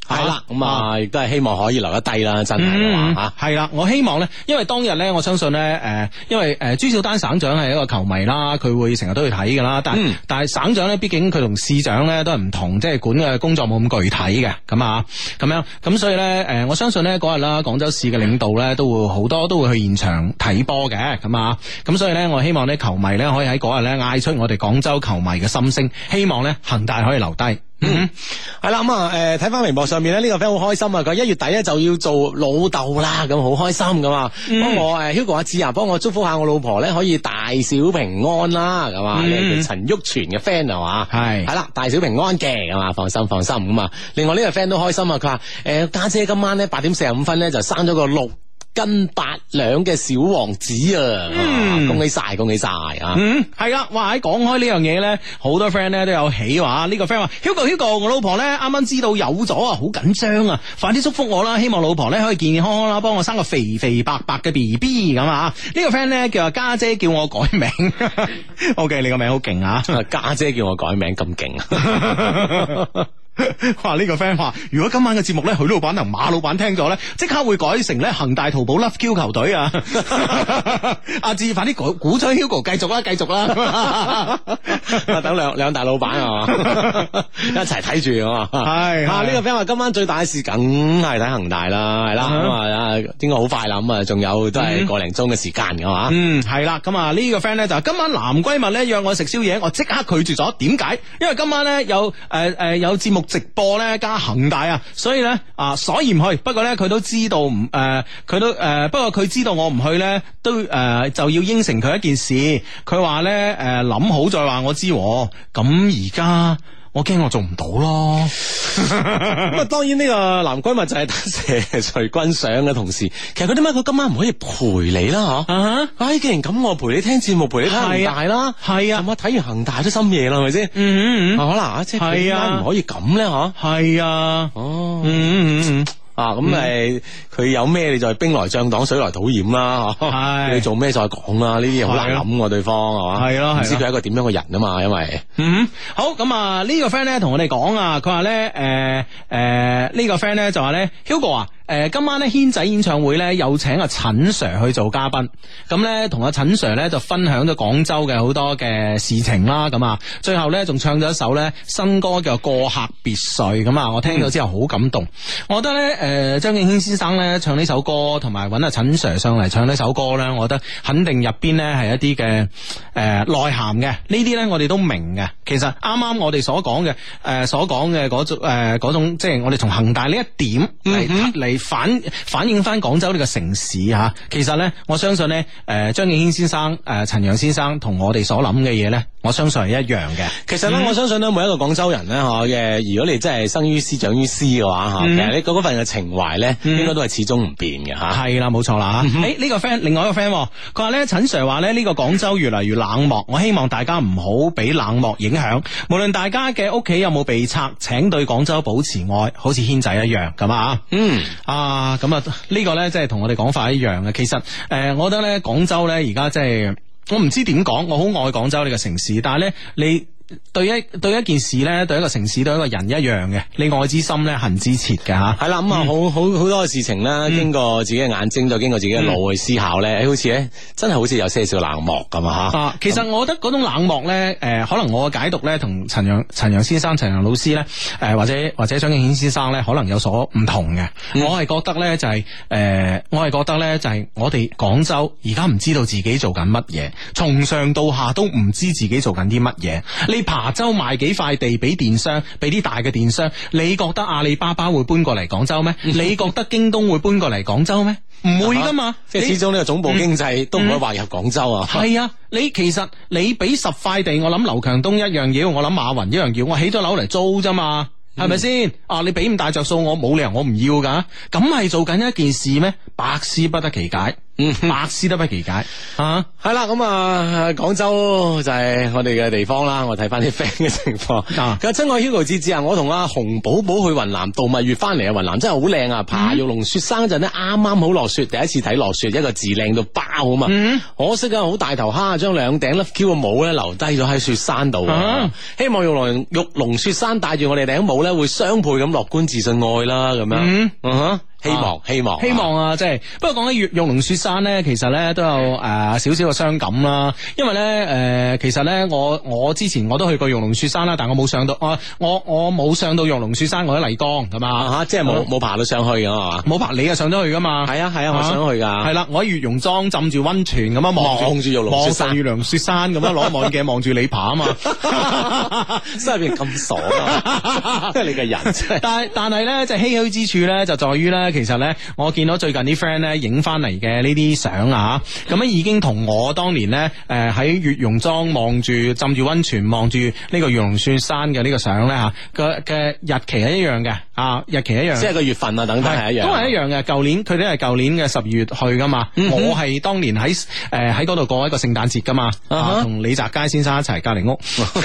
係啦，咁啊亦都係希望可以留得低啦，真係嘅話吓，係啦，我希望咧，因為當日咧，我相信咧，誒、呃，因為誒、呃、朱小丹省長係一個球迷啦，佢會成日都去睇噶啦，但係、嗯、但係省長咧，畢竟佢同市長咧都係唔同，即係管嘅工作冇咁具體嘅，咁啊，咁樣，咁所以咧，誒、呃，我相信咧嗰日啦，廣州市嘅領導咧都會好多都會去現場睇波嘅，咁啊，咁所以咧，我希望咧球迷咧可以喺嗰日咧嗌出我哋廣州球迷嘅心聲，希望咧恒大可以留低。嗯， 係啦，咁啊，誒，睇翻微博上面咧，呢、這個 friend 好開心啊！佢一月底咧就要做老豆啦，咁好開心噶嘛。幫、嗯、我誒，Hugo 阿志啊，幫我祝福下我老婆咧，可以大小平安啦，咁啊，你係陳旭全嘅 friend 係嘛？係係啦，大小平安嘅，係嘛？放心放心咁啊。另外呢個 friend 都開心啊，佢話誒家姐今晚咧八點四十五分咧就生咗個六斤八兩嘅小王子啊！嗯、恭喜晒，恭喜晒啊！ 嗯，係啦，哇！喺講開呢樣嘢咧，好多 friend 咧都有喜話。呢、這個 friend 話：Hugo Hugo，我老婆咧啱啱知道有咗啊，好緊張啊！快啲祝福我啦，希望老婆咧可以健健康康啦，幫我生個肥肥白白嘅 B B 咁啊！呢、這個 friend 咧叫阿家姐叫我改名，OK， 你個名好勁啊！ 家姐叫我改名咁勁啊！ 哇！呢、這個 friend 話，如果今晚嘅節目咧，許老闆同馬老闆聽咗咧，即刻會改成咧恒大淘寶 Love Q 球隊啊！阿志，快啲鼓鼓吹 Hugo 繼續啦，繼續啦！ 等兩兩大老闆啊，一齊睇住啊！係啊！呢個 friend 話今晚最大嘅事，梗係睇恒大啦，係啦，咁啊，應該好快啦，咁啊，仲有都係個零鐘嘅時間嘅嘛。 嗯，係啦，咁啊，呢個 friend 咧就今晚男閨蜜咧約我食宵夜，我即刻拒絕咗。點解？因為今晚咧有誒誒、呃呃、有節目直播咧加恒大啊，所以咧啊，所以唔去。不過咧佢都知道唔誒，佢、呃、都誒、呃，不過佢知道我唔去咧，都誒、呃、就要應承佢一件事。佢話咧誒諗好再話我知。咁而家我驚我做唔到咯。 咁啊，當然呢個男閨蜜就係得謝徐君想嘅同事。其實佢點解佢今晚唔可以陪你啦？嗬、uh，huh. 哎，既然咁，我陪你聽節目，陪你睇恒大啦。係啊，咁啊，睇完恒大都深夜啦，係咪先？嗯嗯嗯，可能啊，即係點解唔可以咁咧？嗬，係啊，哦，嗯嗯嗯。啊，咁咪佢有咩你就係兵來將擋，水來土掩啦，係你做咩再講啦？呢啲嘢好難諗喎，對方係嘛？係咯，唔知佢係一個點樣嘅人啊嘛，因為嗯好咁啊，呢個 friend 咧同我哋講啊，佢話咧誒誒呢個 friend 咧就話咧 Hugo 啊。誒，今晚咧軒仔演唱會咧有請阿陳 Sir 去做嘉賓，咁咧同阿陳 Sir 咧就分享咗廣州嘅好多嘅事情啦，咁啊，最後咧仲唱咗一首咧新歌叫《過客別墅》，咁啊，我聽咗之後好感動。我覺得咧，誒張敬軒先生咧唱呢首歌，同埋揾阿陳 Sir 上嚟唱呢首歌咧，我覺得肯定入邊咧係一啲嘅誒內涵嘅，呢啲咧我哋都明嘅。其實啱啱我哋所講嘅誒所講嘅嗰種誒嗰種，即係我哋從恒大呢一點嚟嚟。反反映翻廣州呢個城市吓，其實咧，我相信咧，誒張敬軒先生、誒陳揚先生同我哋所諗嘅嘢咧，我相信係一樣嘅。其實咧，嗯、我相信咧，每一個廣州人咧，嗬嘅，如果你真係生於斯長於斯嘅話，吓、嗯，其實你嗰份嘅情懷咧，嗯、應該都係始終唔變嘅吓。係啦，冇錯啦吓。誒呢、嗯欸這個 friend，另外一個 friend，佢話咧，陳 Sir 話咧，呢個廣州越嚟越冷漠，我希望大家唔好俾冷漠影響。無論大家嘅屋企有冇被拆，請對廣州保持愛，好似軒仔一樣咁啊。嗯。啊，咁啊，呢個咧，即係同我哋講法一樣嘅。其實，誒、呃，我覺得咧，廣州咧，而家即係，我唔知點講，我好愛廣州呢個城市，但係咧，你。對一對一件事咧，對一個城市，對一個人一樣嘅，你愛之深咧，恨之切嘅吓。係啦，咁啊，好好好多嘅事情咧，嗯、經過自己嘅眼睛，再經過自己嘅腦去思考咧，嗯、好似咧，真係好似有些少冷漠咁啊吓。啊，其實我覺得嗰種冷漠咧，誒、呃，可能我嘅解讀咧，同陳揚陳揚先生、陳揚老師咧，誒、呃，或者或者張敬軒先生咧，可能有所唔同嘅。嗯、我係覺得咧，就係、是、誒、呃，我係覺得咧，就係、是、我哋廣州而家唔知道自己做緊乜嘢，從上到下都唔知自己做緊啲乜嘢。你琶洲賣幾塊地俾電商，俾啲大嘅電商，你覺得阿里巴巴會搬過嚟廣州咩？你覺得京東會搬過嚟廣州咩？唔會噶嘛，即係始終呢個總部經濟都唔可以劃入廣州啊。係啊，你其實你俾十塊地，我諗劉強東一樣要，我諗馬雲一樣要，我起咗樓嚟租啫嘛，係咪先？啊，你俾咁大着數，我冇理由我唔要噶，咁係做緊一件事咩？百思不得其解。 百思都不其解啊！ 係啦，咁啊，廣州就係我哋嘅地方啦。我睇翻啲 friend 嘅情況。 啊， 佢話親愛 Hugo 芝芝啊，我同阿洪寶寶去雲南度蜜月翻嚟啊，雲南真係好靚啊！爬玉龍雪山嗰陣咧，啱啱好落雪，第一次睇落雪，一個字靚到爆啊嘛！嗯、可惜啊，好大頭蝦，將兩頂 Love Q 嘅帽咧留低咗喺雪山度。啊、希望玉龍玉龍雪山帶住我哋頂帽咧，會雙倍咁樂觀自信愛啦，咁樣。嗯嗯希望、啊、希望希望啊！即係不過講起玉玉龍雪山咧，其實咧都有誒少少嘅傷感啦。因為咧誒、呃，其實咧我我之前我都去過玉龍雪山啦，但我冇上到我我我冇上到玉龍雪山，我喺麗江咁啊吓， 即係冇冇爬到上去噶嘛？ 冇爬，你啊上咗去噶嘛？ 係啊係啊，我想去噶。係啦，我喺月榕莊浸住溫泉咁樣望住玉龍雪山，月龍雪山咁樣攞望遠鏡望住你爬啊嘛， 心入邊咁傻啊！即係你個人真係。但係但係咧，即係唏噓之處咧，就在於咧。其實咧，我見到最近啲 friend 咧影翻嚟嘅呢啲相啊，咁樣已經同我當年咧，誒喺月榕莊望住浸住溫泉望住呢個玉龍雪山嘅呢個相咧吓，嘅嘅日期係一樣嘅啊，日期一樣， 即係個月份啊等等係一樣， 都係一樣嘅。舊年佢哋係舊年嘅十二月去噶嘛，嗯、哼我係當年喺誒喺嗰度過一個聖誕節噶嘛，同、uh huh. 李澤楷先生一齊隔籬屋。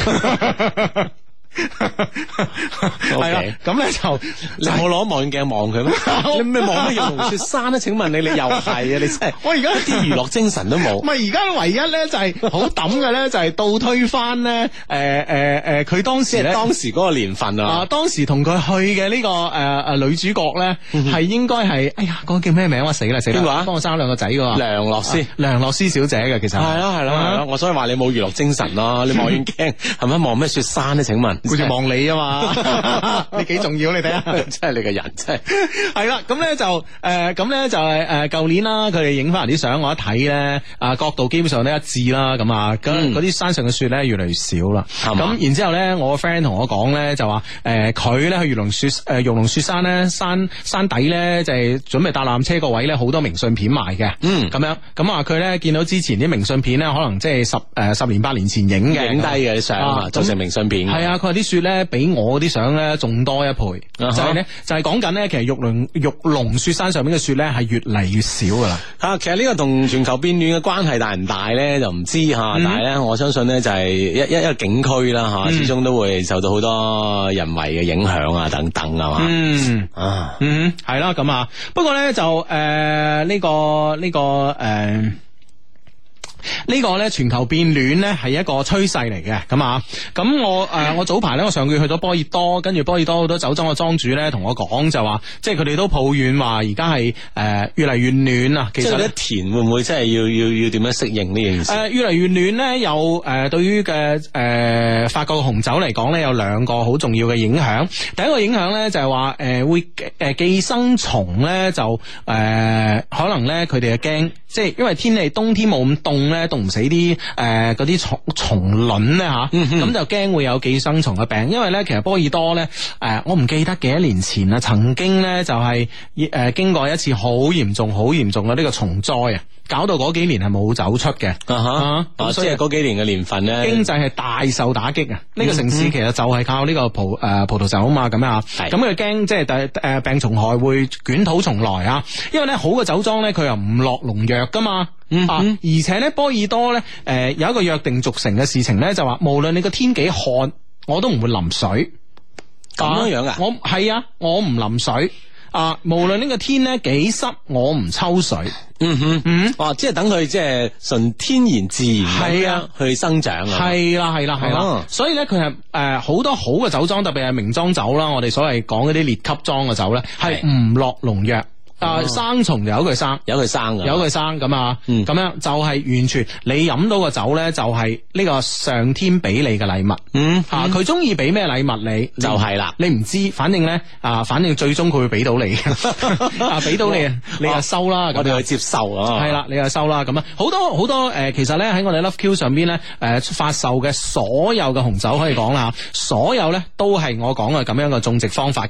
係啦，咁咧就你冇攞望遠鏡望佢咩？你咩望乜玉龍雪山咧？請問你，你又係啊？你真係我而家一啲娛樂精神都冇。 唔係而家唯一咧就係好抌嘅咧，就係倒推翻咧，誒誒誒，佢當時咧當時嗰個年份啊， 啊當時同佢去嘅呢個誒誒女主角咧係應該係，哎呀嗰個叫咩名啊？死啦死啦！邊個啊？幫我生兩個仔噶梁洛施， 梁洛施小姐嘅其實係咯係咯係咯，我所以話你冇娛樂精神咯，你望遠鏡係咪望咩雪山咧？請問？ 好似望你啊嘛，你幾重要你睇下， 真係你個人真係係啦。咁咧就誒，咁咧就係誒，舊年啦，佢哋影翻嚟啲相，我一睇咧，啊角度基本上都一致啦。咁啊，咁嗰啲山上嘅雪咧越嚟越少啦。咁吧然之後咧，我個 friend 同我講咧就話，誒佢咧去玉龍雪誒玉龍雪山咧山山底咧就係準備搭纜車個位咧好多明信片賣嘅。嗯，咁樣咁啊，佢咧見到之前啲明信片咧，可能即係十誒十年八年前影嘅， 影低嘅啲相啊，做成明信片。 係啊，佢話啲雪咧比我啲相咧仲多一倍，就係咧就係講緊咧，其實玉龍玉龍雪山上面嘅雪咧係越嚟越少噶啦。吓， 其實呢個同全球變暖嘅關係大唔大咧，就唔知吓。但係咧，我相信咧就係一一一個景區啦吓，始終都會受到好多人為嘅影響啊等等啊嘛。嗯啊嗯係啦咁啊。不過咧就誒呢個呢個誒。呢個咧全球變暖咧係一個趨勢嚟嘅，咁啊，咁我誒、呃、我早排咧我上個月去咗波爾多，跟住波爾多好多酒莊嘅莊主咧同我講就話，即係佢哋都抱怨話而家係誒越嚟越暖啊。其實咧田會唔會真係要要要點樣適應呢件事？誒、 呃、越嚟越暖咧，有誒、呃、對於嘅誒法國嘅紅酒嚟講咧，有兩個好重要嘅影響。第一個影響咧就係話誒會誒寄生蟲咧就誒、呃、可能咧佢哋嘅驚，即係因為天氣冬天冇咁凍咧，凍唔死啲誒嗰啲蟲蟲卵咧吓，咁、嗯、哼就驚會有寄生蟲嘅病。因為咧其實波爾多咧誒、呃、我唔記得幾多年前啊，曾經咧就係、是、誒、呃、經過一次好嚴重好嚴重嘅呢個蟲災啊，搞到嗰幾年係冇走出嘅。啊哈， 啊所以嗰幾年嘅年份咧， 經濟係大受打擊啊！呢、這個城市其實就係靠呢個葡誒、呃、葡萄酒啊嘛，咁啊，咁佢驚即係第誒病蟲害會捲土重來啊！因為咧好嘅酒莊咧佢又唔落農藥噶嘛。嗯、啊！而且咧，波爾多咧，誒、呃，有一個約定俗成嘅事情咧，就話無論你個天幾旱，我都唔會淋水。 咁樣樣啊？ 我係啊，我唔淋水。啊，無論呢個天咧幾濕，我唔抽水。 嗯哼，嗯，哦、啊，即係等佢即係純天然自然係啊去生長啊。係啦，係啦，係啦。啊、所以咧，佢係誒好多好嘅酒莊，特別係名莊酒啦，我哋所謂講嗰啲列級莊嘅酒咧，係唔落農藥。啊！生蟲就由佢生， 由佢生嘅， 由佢生咁啊，咁、嗯、樣就係完全你飲到個酒咧，就係呢個上天俾你嘅禮物。嗯，啊，佢中意俾咩禮物你就係啦，你唔知，反正咧啊，反正最終佢會俾到你啊，俾到你，你就收啦。 我哋去接受啊， 係啦，你就收啦。咁啊，好多好多誒、呃，其實咧喺我哋 Love Q 上邊咧誒發售嘅所有嘅紅酒可以講啦，所有咧都係我講嘅咁樣嘅種植方法嘅。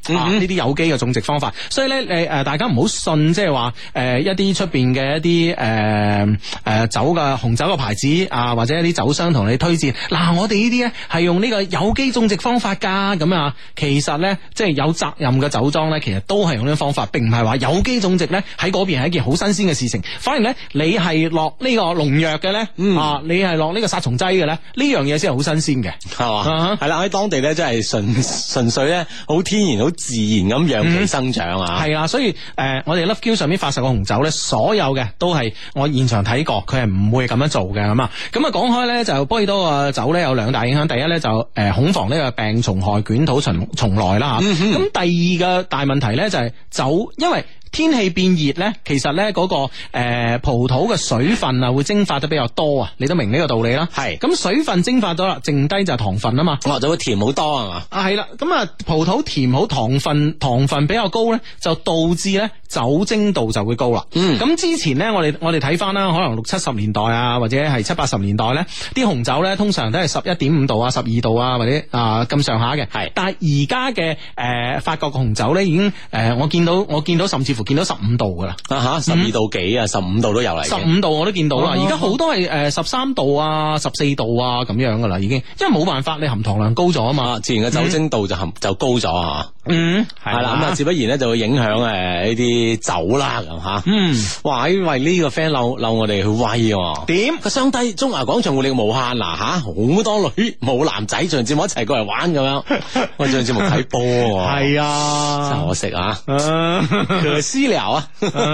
啊呢啲有機嘅種植方法。所以咧，你誒大家唔好信，即係話誒一啲出邊嘅一啲誒誒酒嘅紅酒嘅牌子啊，或者一啲酒商同你推薦嗱，我哋呢啲咧係用呢個有機種植方法噶，咁啊，其實咧即係有責任嘅酒莊咧，其實都係用呢個方法，並唔係話有機種植咧喺嗰邊係一件好新鮮嘅事情。反而咧，你係落呢個農藥嘅咧，嗯、啊，你係落呢個殺蟲劑嘅咧，呢樣嘢先係好新鮮嘅，係嘛？係啦，喺當地咧真係純純粹咧好天然、好自然咁讓其生長啊！係啊，所以誒、呃，我哋 Love Q 上面發售嘅紅酒咧，所有嘅都係我現場睇過，佢係唔會咁樣做嘅咁啊。咁啊，講開咧就波爾多嘅酒咧有兩大影響，第一咧就誒、呃、恐防呢個病蟲害捲土重重來啦吓。咁、嗯、第二個大問題咧就係酒，因為天氣變熱咧，其實咧嗰、那個誒、呃、葡萄嘅水分啊會蒸發得比較多啊，你都明呢個道理啦。係咁水分蒸發咗啦，剩低就係糖分啊嘛，哦就會甜好多係嘛。啊係啦，咁啊葡萄甜好，糖分糖分比較高咧，就導致咧酒精度就會高啦。嗯，咁之前咧我哋我哋睇翻啦，可能六七十年代啊，或者係七八十年代咧，啲紅酒咧通常都係十一點五度啊、十二度啊，或者啊咁上下嘅。係，但係而家嘅誒法國嘅紅酒咧已經誒、呃、我見到我見到甚至乎見到十五度噶啦，啊吓十二度幾啊，十五度都有嚟，十五度我都見到啦。而家好多係誒十三度啊、十四度啊咁樣噶啦，已經，因為冇辦法，你含糖量高咗啊嘛，自然嘅酒精度就含、嗯、就高咗啊。嗯，係啦，咁啊，自不然咧就會影響誒呢啲酒啦，咁吓。嗯，哇，因為呢個 friend 嬲嬲我哋去威喎。點？個雙低中華廣場活力無限嗱吓，好多女冇男仔做節目一齊過嚟玩咁樣。我做節目睇波喎。係啊，真可惜啊。可惜了啊。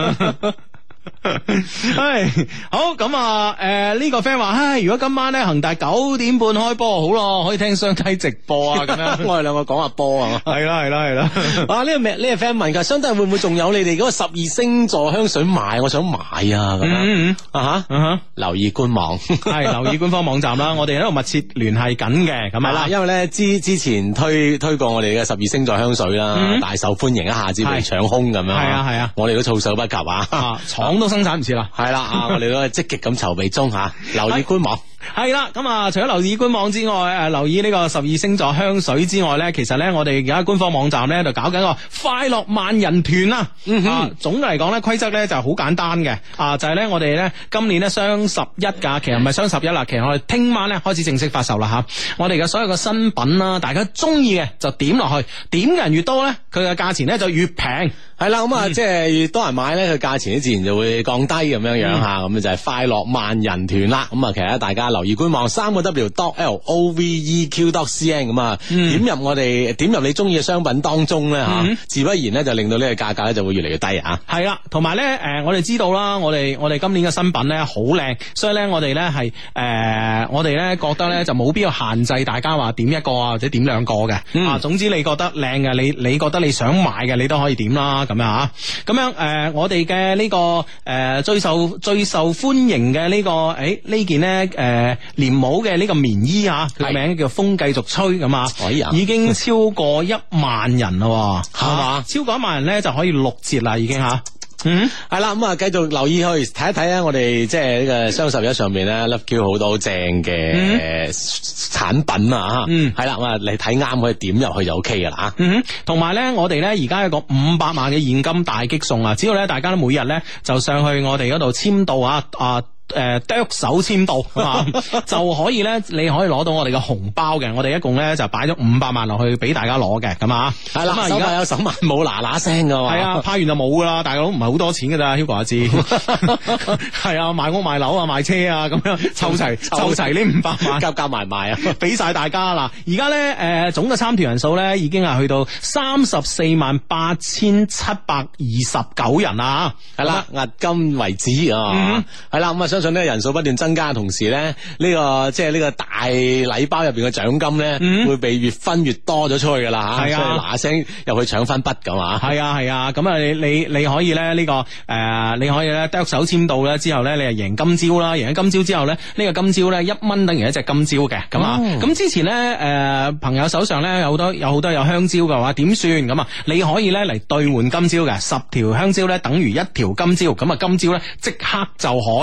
唉，好咁啊！誒，呢、呃這個 friend 話，唉，如果今晚咧恒大九點半開波好咯，可以聽雙低直播啊！咁樣，我哋兩個講下波啊！係啦，係啦，係啦！啊，呢、這個呢、這個 friend 問噶，雙低會唔會仲有你哋嗰個十二星座香水賣？我想買啊！咁樣、嗯、啊吓，啊哈，留意官網，係留意官方網站啦。我哋喺度密切聯繫緊嘅，咁係啦。因為咧之之前推推過我哋嘅十二星座香水啦，嗯、大受歡迎，一下子被搶空咁樣。係啊係啊，我哋都措手不及啊！廠都生產唔切啦，係啦啊！我哋都係積極咁籌備中吓，留意官網。係啦，咁啊，除咗留意官網之外，誒，留意呢個十二星座香水之外咧，其實咧，我哋而家官方網站咧就搞緊個快樂萬人團啊！嗯哼，啊、總嘅嚟講咧，規則咧就係好簡單嘅，啊，就係、是、咧，我哋咧今年咧雙十一假期，唔係雙十一啦，其實我哋聽晚咧開始正式發售啦吓。我哋嘅所有嘅新品啦，大家中意嘅就點落去，點嘅人越多咧，佢嘅價錢咧就越平。係啦，咁啊，即係越多人買咧，佢價錢咧自然就會降低咁樣樣吓，咁、嗯、就係快樂萬人團啦。咁啊，其實大家留意官網三個 W dot L O V E Q dot C N 咁啊，點入我哋點入你中意嘅商品當中咧吓，嗯、自不然咧就令到呢個價格咧就會越嚟越低啊。係啦，同埋咧誒，我哋知道啦，我哋我哋今年嘅新品咧好靚，所以咧我哋咧係誒，我哋咧覺得咧就冇必要限制大家話點一個啊或者點兩個嘅、嗯、啊。總之你覺得靚嘅，你你覺得你想買嘅，你都可以點啦。咁樣吓，咁樣誒、呃，我哋嘅呢個誒、呃、最受最受歡迎嘅呢、這個誒、欸、呢件咧誒連帽嘅呢個棉衣啊，佢名叫風繼續吹咁啊，已經超過一萬人啦，係嘛？超過一萬人咧就可以六折啦，已經吓。嗯，係啦，咁啊，繼續留意去睇一睇咧，我哋即係呢個雙十一上面咧，Love Q 好多好正嘅產品啊，嗯，係啦，咁啊，你睇啱可以點入去就 OK 噶啦，啊，嗯，同埋咧，我哋咧而家有個五百萬嘅現金大擊送啊，只要咧大家都每日咧就上去我哋嗰度簽到啊啊。誒，剁、呃、手簽到啊，就可以咧，你可以攞到我哋嘅紅包嘅。我哋一共咧就擺咗五百萬落去俾大家攞嘅，咁啊，係啦，而家有手萬冇嗱嗱聲噶，係啊，派完就冇噶啦，大佬唔係好多錢噶咋 Hugo 阿志，係啊，買屋買樓啊，買車啊，咁樣湊齊湊齊呢五百萬，夾夾埋埋啊，俾晒大家啦。而家咧誒，總嘅參團人數咧已經係去到三十四萬八千七百二十九人啊，係啦，押金為止啊，係啦，咁啊。相信咧人數不斷增加嘅同時咧，呢、這個即係呢個大禮包入邊嘅獎金咧，嗯、會被越分越多咗出去噶啦吓，係啊，所以嗱聲入去搶翻筆噶嘛。係啊係啊，咁啊你你你可以咧呢、這個誒、呃，你可以咧剁手簽到咧之後咧，你係贏金蕉啦，贏咗金蕉之後咧，呢、這個金蕉咧一蚊等於一隻金蕉嘅，咁啊，咁、哦、之前咧誒、呃、朋友手上咧有好多有好多有香蕉嘅話，點算咁啊？你可以咧嚟兌換金蕉嘅，十條香蕉咧等於一條金蕉，咁啊金蕉咧即刻就可以咧。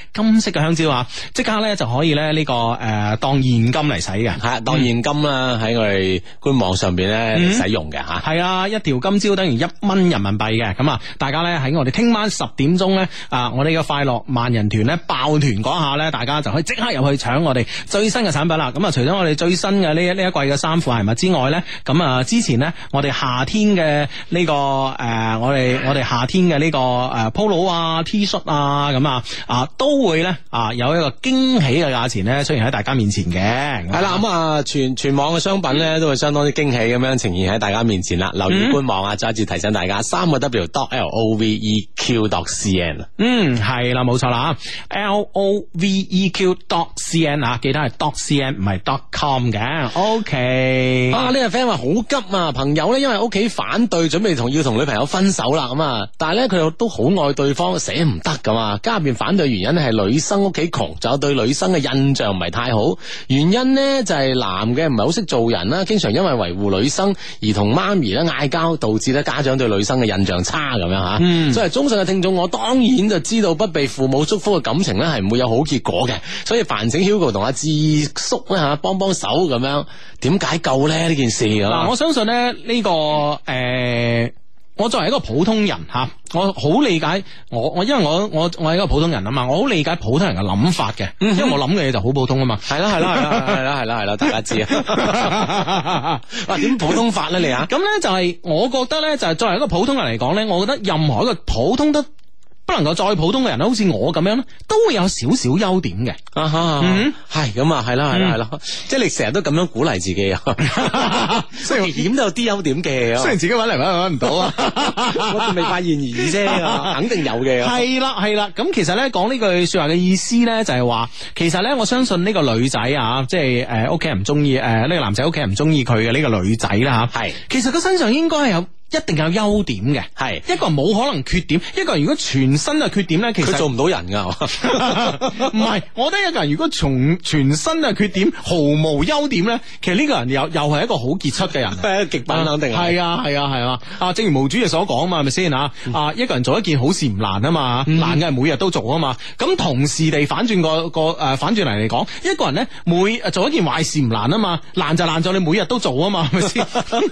金色嘅香蕉啊，即刻咧就可以咧呢個誒當現金嚟使嘅， 係當現金啦，喺我哋官網上邊咧使用嘅吓。 係啊，一條金蕉等於一蚊人民幣嘅，咁啊，大家咧喺我哋聽晚十點鐘咧啊，我哋嘅快樂萬人團咧爆團嗰下咧，大家就可以即刻入去搶我哋最新嘅產品啦。咁啊，除咗我哋最新嘅呢一呢一季嘅衫褲鞋襪之外咧，咁啊之前咧我哋夏天嘅呢、這個誒、呃，我哋我哋夏天嘅呢、這個誒 polo 啊 T 恤啊，咁啊啊都會咧啊有一個驚喜嘅價錢咧出現喺大家面前嘅。 係啦，咁啊全全網嘅商品咧都會相當之驚喜咁樣呈現喺大家面前啦。留意官網啊，再一次提醒大家三個 W dot L O V E Q dot C N。 嗯，係啦，冇錯啦 ，L O V E Q dot C N 啊，記得係 dot C N 唔係 dot com 嘅。OK。 啊，呢個 friend 話好急啊，朋友咧因為屋企反對，準備同要同女朋友分手啦，咁啊，但係咧佢又都好愛對方，捨唔得噶嘛。家入邊反對原因咧係女生屋企窮，仲有對女生嘅印象唔係太好。原因呢就係男嘅唔係好識做人啦，經常因為維護女生而同媽咪咧嗌交，導致咧家長對女生嘅印象差咁樣吓。嗯，作為忠實嘅聽眾，我當然就知道不被父母祝福嘅感情咧係唔會有好結果嘅，所以煩請 Hugo 同阿智叔咧吓幫幫手咁樣，點解救咧呢件事啊？ 嗱，我相信咧呢、這個誒。呃我作為一個普通人吓，我好理解我我因為我我我係一個普通人啊嘛，我好理解普通人嘅諗法嘅，因為我諗嘅嘢就好普通啊嘛。 係啦係啦係啦係啦係啦係啦，大家知啊。哇，點普通法咧你啊？ 咁咧就係我覺得咧就係作為一個普通人嚟講咧，我覺得任何一個普通得不能夠再普通嘅人好似我咁樣咧，都會有少少優點嘅。 啊哈，嗯，係咁啊，係啦係啦係啦，即係你成日都咁樣鼓勵自己啊。雖然險都有啲優點嘅， 雖然自己搵嚟搵去搵唔到啊， 我仲未發現而已啫，肯定有嘅。 係啦係啦，咁其實咧講呢句說話嘅意思咧就係話，其實咧我相信呢個女仔啊，即係誒屋企人唔中意誒呢個男仔屋企人唔中意佢嘅呢個女仔啦吓，係，其實佢身上應該係有。一定有優點嘅，係一個人冇可能缺點，一個人如果全身嘅缺點咧，其實佢做唔到人噶。 唔係，我覺得一個人如果從全身嘅缺點毫無優點咧，其實呢個人又又係一個好傑出嘅人， 係極品肯定係啊係啊係啊啊！正如毛主席所講嘛，係咪先啊？啊，一個人做一件好事唔難啊嘛，嗯、難嘅係每日都做啊嘛。咁同時地反轉個個誒反轉嚟嚟講，一個人咧每做一件壞事唔難啊嘛，難就難在你每日都做啊嘛，係咪先？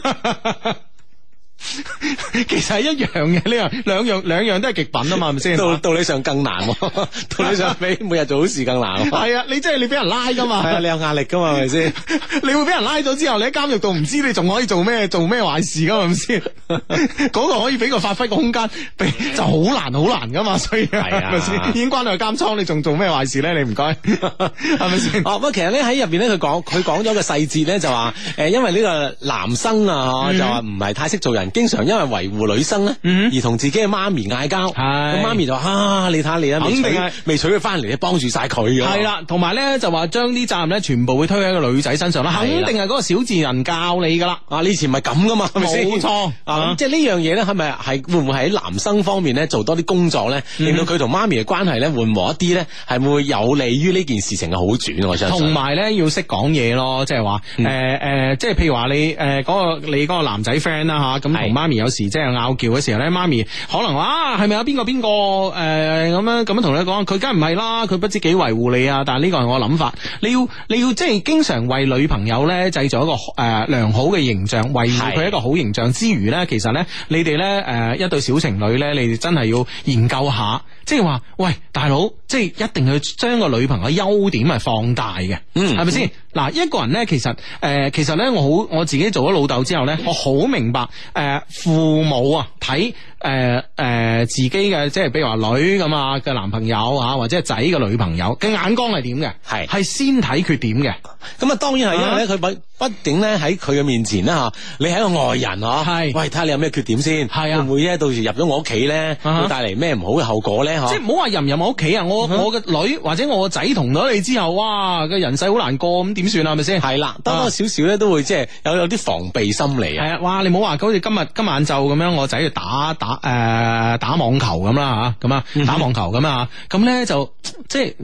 其實係一樣嘅，呢樣兩樣兩樣都係極品啊嘛，係咪先？ 道道理上更難，道理上比每日做好事更難。 係啊，你即係你俾人拉噶嘛？ 係啊，你有壓力噶嘛？係咪先？ 你會俾人拉咗之後，你喺監獄度唔知你仲可以做咩做咩壞事噶嘛？係咪先？嗰個可以俾個發揮個空間，俾就好難好難噶嘛。所以係啊，係咪先？已經關到去監倉，你仲做咩壞事咧？你唔該，係咪先？ 哦，不過其實咧喺入邊咧，佢講佢講咗個細節咧，就話誒，因為呢個男生啊，就話唔係太識做人。經常因為維護女生咧，嗯、而同自己嘅媽咪嗌交，咁媽咪就話啊，你睇下你啊，肯定係未娶佢翻嚟，你幫住晒佢嘅。係啦， 同埋咧就話將啲責任咧全部會推喺個女仔身上啦，肯定係嗰個小智人教你噶啦。 啊，你以前唔係咁噶嘛，係咪先？ 冇錯啊，即係呢樣嘢咧，係咪係會唔會喺男生方面咧做多啲工作咧，令到佢同媽咪嘅關係咧緩和一啲咧，係會有利於呢件事情嘅好轉？我相信。同埋咧要識講嘢咯，即係話誒誒，即係譬如話你誒嗰個你嗰個男仔 friend 啦吓，咁同媽咪有時即係拗撬嘅時候咧，媽咪可能話啊，係咪有邊個邊個誒咁樣咁樣同你講，佢梗係唔係啦，佢不知幾維護你啊，但係呢個係我諗法，你要你要即係經常為女朋友咧製造一個誒、呃、良好嘅形象，維護佢一個好形象之餘咧，其實咧你哋咧誒一對小情侶咧，你哋真係要研究下，即係話喂大佬，即係一定要將個女朋友優點係放大嘅，嗯，係咪先？嗱，一個人咧，其實誒、呃，其實咧，我好我自己做咗老豆之後咧，我好明白誒、呃，父母啊睇誒誒自己嘅，即係比如話女咁啊嘅男朋友啊，或者係仔嘅女朋友嘅眼光係點嘅？係係是先睇缺點嘅。咁啊，當然係因為咧，佢不畢竟咧喺佢嘅面前咧吓，你係一個外人嗬，係是喂睇下你有咩缺點先，係啊，會唔會咧到時入咗我屋企咧，會帶嚟咩唔好嘅後果咧？即係唔好話入唔入我屋企啊！我我嘅女或者我個仔同咗你之後，哇個人世好難過咁。點算啊？係咪先？係啦，多多少少咧都會即係有有啲防備心理啊。係啊，哇！你唔好話好似今日今晚晝咁樣，我仔去打打誒、呃、打網球咁啦吓，咁啊打網球咁啊，咁咧就即係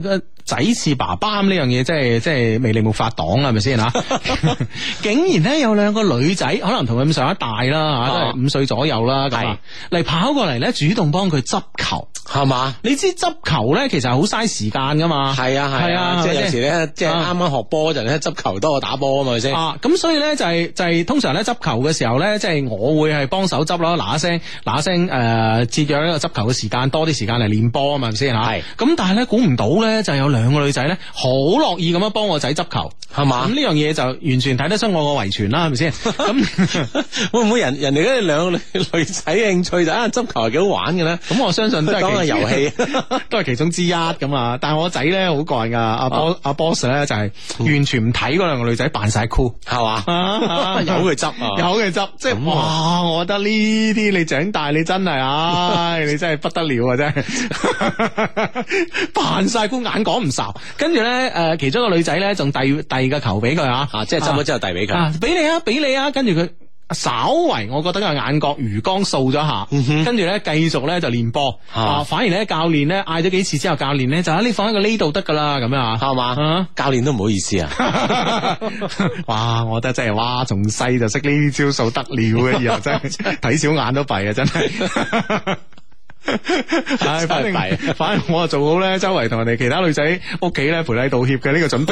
仔似爸爸咁呢樣嘢，即係即係魅力沒法擋啦，係咪先吓？竟然咧有兩個女仔，可能同佢咁上一大啦吓，都係五歲左右啦，咁啊嚟跑過嚟咧，主動幫佢執球， 係嘛？ 你知執球咧，其實係好嘥時間噶嘛。 係啊係啊，即係有時咧，即係啱啱學波嗰陣咧，執球多過打波啊嘛，係咪先？啊， 咁所以咧就係就係通常咧執球嘅時候咧，即係我會係幫手執咯，嗱一聲嗱一聲誒，節約呢個執球嘅時間，多啲時間嚟練波啊嘛，係咪先吓？係。咁但係咧估唔到咧，就有兩個女仔咧，好樂意咁樣幫我仔執球，係嘛？咁呢樣嘢就完全睇得出我個遺傳啦，係咪先？咁會唔會人人哋嗰兩個女女仔嘅興趣就啊執球係幾好玩嘅咧？咁我相信都係當個遊戲，都係其中之一咁啊！但係我仔咧好怪噶，阿波阿 boss 咧就係完全唔睇嗰兩個女仔扮晒 cool， 係嘛？有佢執，有佢執，即係哇！我覺得呢啲你長大你真係，唉，你真係不得了啊！真係扮晒 cool，眼講唔睄，跟住咧誒，其中一個女仔咧仲遞遞個球俾佢啊，即係執咗之後遞俾佢，俾你啊，俾你啊，跟住佢。稍為我覺得個眼角餘光掃咗下，跟住咧繼續咧就練波，啊，反而咧教練咧嗌咗幾次之後，教練咧就喺你放喺個呢度得噶啦，咁樣啊，係嘛？教練都唔好意思啊，哇！我覺得真係哇，從細就識呢啲招數得了嘅，以後真係睇小眼都弊啊，真係。唉，反正反正我啊做好咧，周圍同人哋其他女仔屋企咧賠禮道歉嘅呢個準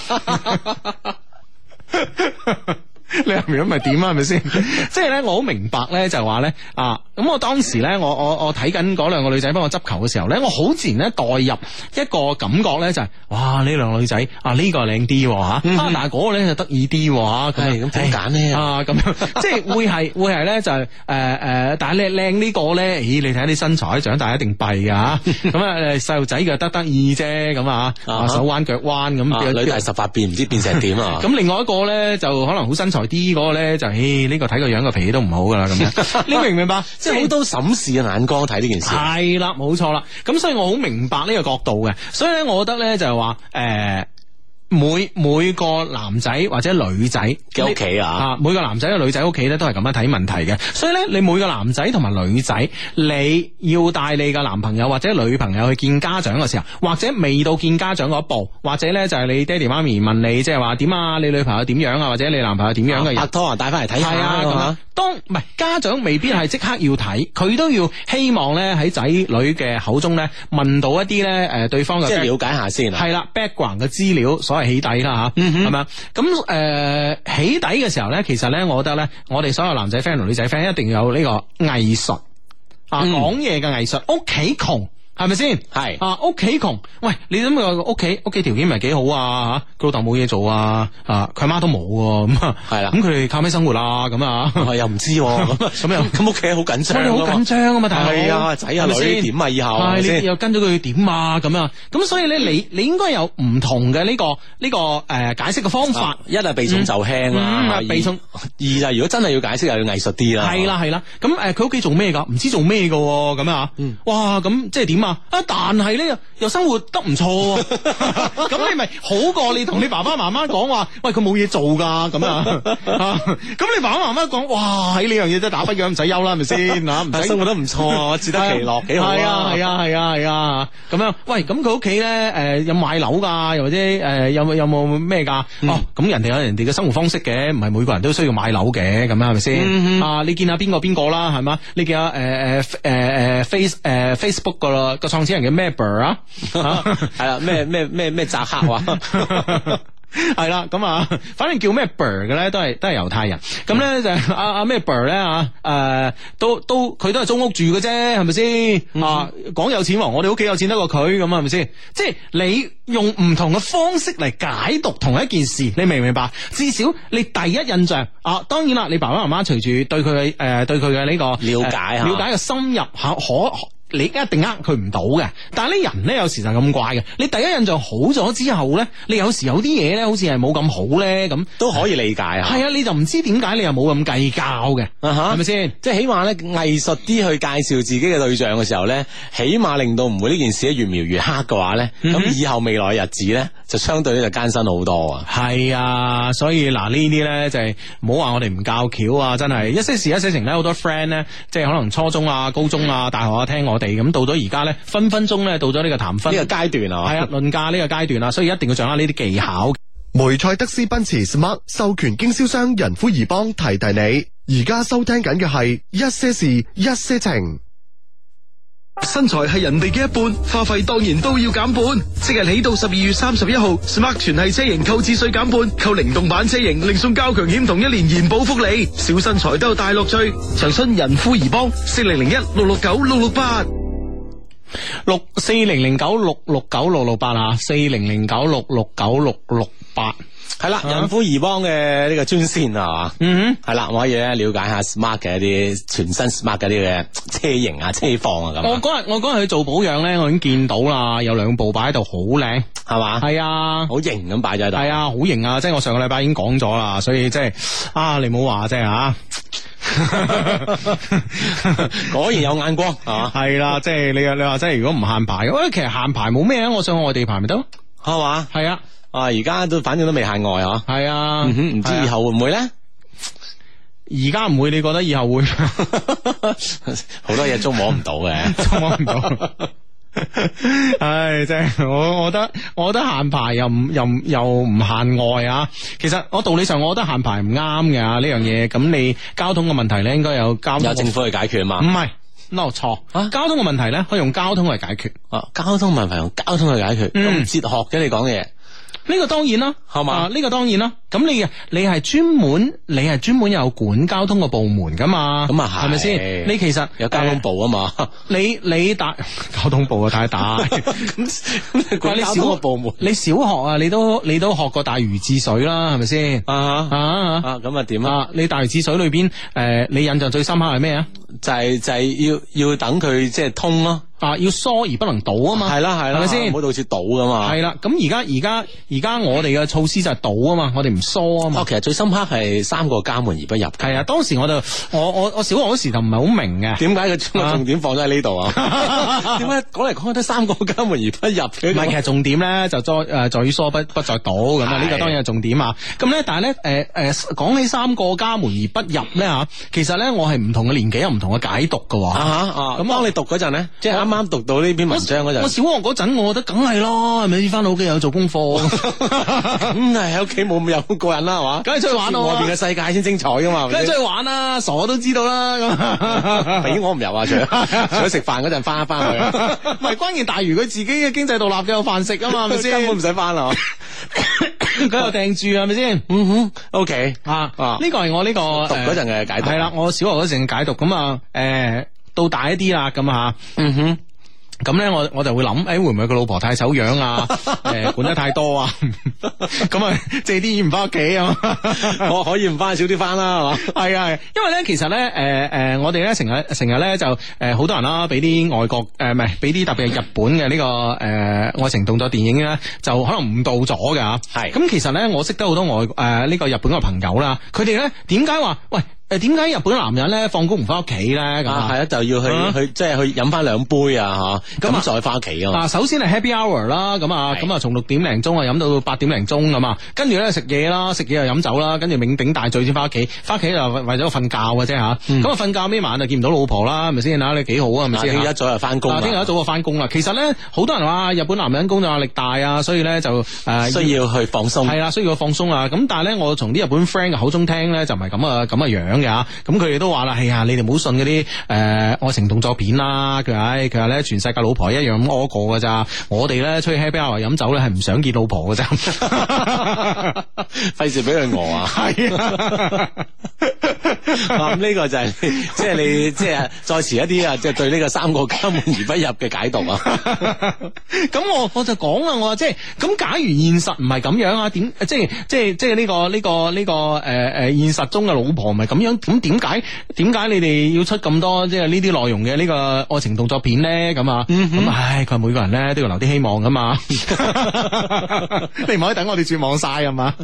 備。你入面咁咪點啊？係咪先？即係咧，我好明白咧，就係話咧啊！咁我當時咧，我我我睇緊嗰兩個女仔幫我執球嘅時候咧，我好自然咧代入一個感覺咧，就係、是、哇！呢兩個女仔啊，呢、這個靚啲吓，嗯、啊，但係嗰個咧就得意啲吓，咁咁點揀呢？啊，咁樣即係會係會係咧就係誒誒，但係靚靚呢個咧，咦？你睇下啲身材，長大一定弊噶吓，咁啊誒細路仔嘅得得意啫，咁啊手彎腳彎咁，女大十八變，唔知變成點啊？咁另外一個咧就可能好身材啲嗰個咧就，誒呢個睇個樣個脾氣都唔好噶啦，咁樣你明唔明白？即係好多審視嘅眼光睇呢件事。係啦，冇錯啦。咁所以我好明白呢個角度嘅。所以咧，我覺得咧就係話，誒每每個男仔或者女仔嘅屋企啊，啊每個男仔嘅女仔屋企咧都係咁樣睇問題嘅。所以咧，你每個男仔同埋女仔，你要帶你嘅男朋友或者女朋友去見家長嘅時候，或者未到見家長嗰一步，或者咧就係你爹哋媽咪問你，即係話點啊？你女朋友點樣啊？或者你男朋友點樣嘅人？拍拖啊，帶翻嚟睇下啊咁樣。當唔係家長未必係即刻要睇，佢都要希望咧喺仔女嘅口中咧問到一啲咧誒對方嘅，即係了解下先。係啦 ，background 嘅資料，所謂起底啦吓，係咪啊？咁誒、呃、起底嘅時候咧，其實咧，我覺得咧，我哋所有男仔 friend 同女仔 friend 一定要有呢個藝術啊，講嘢嘅藝術。屋企窮。係咪先？係啊，屋企窮，喂，你諗下屋企屋企條件唔係幾好啊？吓，佢老豆冇嘢做啊，啊，佢媽都冇咁啊，係啦，咁佢哋靠咩生活啊？咁啊，又唔知咁咁又咁屋企好緊張，好緊張啊嘛，係啊，仔啊女點啊以後，係你又跟咗佢點啊？咁啊，咁所以咧，你你應該有唔同嘅呢個呢個誒解釋嘅方法，一係避重就輕啦，避重；二就如果真係要解釋，又要藝術啲啦。係啦係啦，咁誒佢屋企做咩噶？唔知做咩噶咁啊？哇，咁即係點？啊！但係咧又生活得唔錯，咁你咪好過你同你爸爸媽媽講話，喂佢冇嘢做噶咁啊！咁你爸爸媽媽講，哇喺呢樣嘢真係打不烊唔使憂啦，係咪先啊？唔使生活得唔錯，自得其樂幾好啊！係啊係啊係啊係啊！咁樣喂，咁佢屋企咧誒有買樓噶，又或者誒有冇有冇咩噶？哦，咁人哋有人哋嘅生活方式嘅，唔係每個人都需要買樓嘅，咁啊係咪先？啊，你見下邊個邊個啦，係嘛？你見下誒誒誒誒 face 誒 Facebook 噶啦。個創始人嘅咩 Ber 啊，係啦，咩咩咩咩扎克話，係啦，咁啊，反正叫咩 Ber 嘅咧，都係都係猶太人。咁咧就阿阿咩 Ber 咧啊，誒，都都佢都係租屋住嘅啫，係咪先？啊，講有錢王，我哋屋企有錢得過佢，咁係咪先？即係你用唔同嘅方式嚟解讀同一件事，你明唔明白？至少你第一印象啊，當然啦，你爸爸媽媽隨住對佢嘅誒對佢嘅呢個了解了解嘅深入可可。你一定呃佢唔到嘅，但係呢人咧有時就咁怪嘅。你第一印象好咗之後咧，你有時有啲嘢咧，好似係冇咁好咧，咁都可以理解啊。係啊，你就唔知點解你又冇咁計較嘅，係咪先？即係起碼咧藝術啲去介紹自己嘅對象嘅時候咧，起碼令到唔會呢件事越描越黑嘅話咧，咁、嗯、以後未來日子咧就相對咧就艱辛好多啊。係啊，所以嗱呢啲咧就係唔好話我哋唔教橋啊，真係一些事一些情咧，好多 friend 咧，即係可能初中啊、高中啊、大學啊聽我哋地，咁到咗而家咧，分分鐘咧到咗呢個談婚呢個階段啊， 係啊，論價呢個階段啊，所以一定要掌握呢啲技巧。 梅賽德斯奔馳 Smart 授權經銷商仁孚怡邦提提你，而家收聽緊嘅係一些事一些情。 身材係人哋嘅一半，花費當然都要減半。即日起到十二月三十一號 ，Smart 全系車型購置稅減半，購靈動版車型另送交強險同一年延保福利，小身材都有大樂趣。詳詢仁孚怡邦四零零一六六九六六八。 六四零零九六六九六六八啊，四零零九六六九六六八係啦，仁孚怡邦嘅呢個專線啊，嗯哼，係啦，我可以咧了解下 Smart 嘅一啲全新 Smart 嘅啲嘅車型啊、車況啊咁。 我嗰日我嗰日去做保養咧，我已經見到啦，有兩部擺喺度，好靚，係嘛？係啊， 好型咁擺咗喺度。係啊，好型啊！即係我上個禮拜已經講咗啦，所以即係啊，你唔好話即係啊。 果然有眼光啊！ 係啦，即係你你話即係如果唔限牌，喂，其實限牌冇咩啊，我上外地牌咪得咯， 係嘛？ 係啊， 啊而家都反正都未限外嗬， 係啊，唔、 嗯、知以後會唔會咧？ 而家唔會，你覺得以後會？ 好多嘢捉摸唔到嘅， 捉摸唔到。唉，真係我我覺得我覺得限牌又唔又又唔限外啊！其實我道理上我覺得限牌唔啱嘅啊呢樣嘢。咁你交通嘅問題咧，應該有交通有政府去解決啊嘛？ 唔係，no 錯啊！交通嘅問題咧，可以用交通嚟解決啊！交通問題用交通去解決，咁、嗯、哲學嘅你講嘅嘢。 呢個當然啦， 係嘛？ 呢、啊這個當然啦。咁你你係專門，你係專門有管交通嘅部門噶嘛？ 咁啊係， 係咪先？你其實有交通部啊嘛？呃、 你你大交通部啊太大， 咁你管交通嘅部門， 你小學啊，你都你都學過大禹治水啦，係咪先？啊啊啊！咁啊點啊？ 你大禹治水裏邊，誒、呃，你印象最深刻係咩啊？ 就係、是、就係、是、要要等佢即係通咯。 啊！要疏而不能倒啊嘛， 係啦係啦，係咪先？唔好到處倒噶嘛。係啦， 咁而家而家而家我哋嘅措施就係倒啊嘛，我哋唔疏啊嘛。 哦，其實最深刻係三個家門而不入。係啊，當時我就我我我小學嗰時就唔係好明嘅， 點解佢將個重點放咗喺呢度啊？點解講嚟講去都三個家門而不入嘅？ 唔係，其實重點咧就在誒在於疏不不在倒咁啊，呢個當然係重點啊。咁咧，但係咧誒誒講起三個家門而不入咧吓，其實咧我係唔同嘅年紀有唔同嘅解讀噶。啊啊！咁當你讀嗰陣咧，即係啱啱讀到呢篇文章嗰陣， 我小學嗰陣，我覺得梗係咯，係咪翻到屋企有做功課？ 咁係喺屋企冇咁有個人啦，係嘛？ 梗係出去玩咯， 外邊嘅世界先精彩噶嘛？ 梗係出去玩啦，傻都知道啦。咁， 俾我唔入啊！除咗除咗食飯嗰陣翻一翻去， 唔係關鍵大如佢自己嘅經濟獨立，有飯食啊嘛，係咪先？ 根本唔使翻啊！ 佢又訂住係咪先？ 嗯哼 ，OK 啊啊！呢個係我呢個讀嗰陣嘅解讀， 係啦，我小學嗰陣嘅解讀咁啊，誒。到大一啲啦，咁啊，嗯哼，咁咧我我就會諗，誒、欸、會唔會佢老婆太醜樣啊？誒、欸、管得太多啊？咁啊借啲錢唔翻屋企啊？ 我可以唔翻少啲翻啦，係嘛？ 係啊，因為咧其實咧，誒、呃、誒、呃，我哋咧成日成日咧就誒好、呃、多人啦，俾啲外國誒唔係俾啲特別係日本嘅呢、這個誒、呃、愛情動作電影咧，就可能誤導咗噶。係咁，其實咧我識得好多外誒呢、呃這個日本嘅朋友啦，佢哋咧點解話喂？誒，點解日本男人咧放工唔翻屋企咧？咁啊， 係啊，就要去、啊、去即係去飲翻兩杯啊，吓咁再翻屋企啊。 嗱，首先係 happy hour 啦，咁啊，咁啊，從六點零鐘啊飲到八點零鐘咁啊，跟住咧食嘢啦，食嘢又飲酒啦，跟住酩酊大醉先翻屋企，翻屋企就為咗瞓覺嘅啫吓。咁啊，瞓覺咩晚就見唔到老婆啦，係咪先啊？你幾好啊？係咪先？ 聽日一早就翻工， 聽日一早就翻工啦。其實咧，好多人話日本男人工作壓力大啊，所以咧就誒、呃、 需要去放鬆。 係啦，需要去放鬆啊。咁但係咧，我從啲日本 friend 嘅口中聽咧，就唔係咁啊咁啊樣嘅吓。咁佢都話啦，係啊，你哋唔好信嗰啲誒愛情動作片啦。佢話，佢話咧全世界老婆一樣咁屙過噶咋，我哋咧出去 happy hour 飲酒咧係唔想見老婆噶咋，費事俾佢餓啊。係啊， 咁呢個就係即係你即係再遲一啲啊，即係對呢個三個家門而不入嘅解讀啊。 咁我我就講啦，我話即係咁，假如現實唔係咁樣啊，點即係即係即係呢個呢個呢個誒誒現實中嘅老婆唔係咁樣，咁點解點解你哋要出咁多即係呢啲內容嘅呢個愛情動作片咧？咁啊，咁、嗯、唉，佢話每個人咧都要留啲希望噶嘛，你唔可以等我哋絕望晒啊嘛。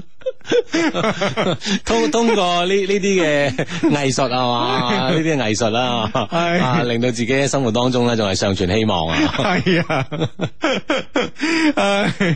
通通過呢呢啲嘅藝術啊嘛，呢啲嘅藝術啦，啊令到自己喺生活當中咧仲係尚存希望啊。係啊。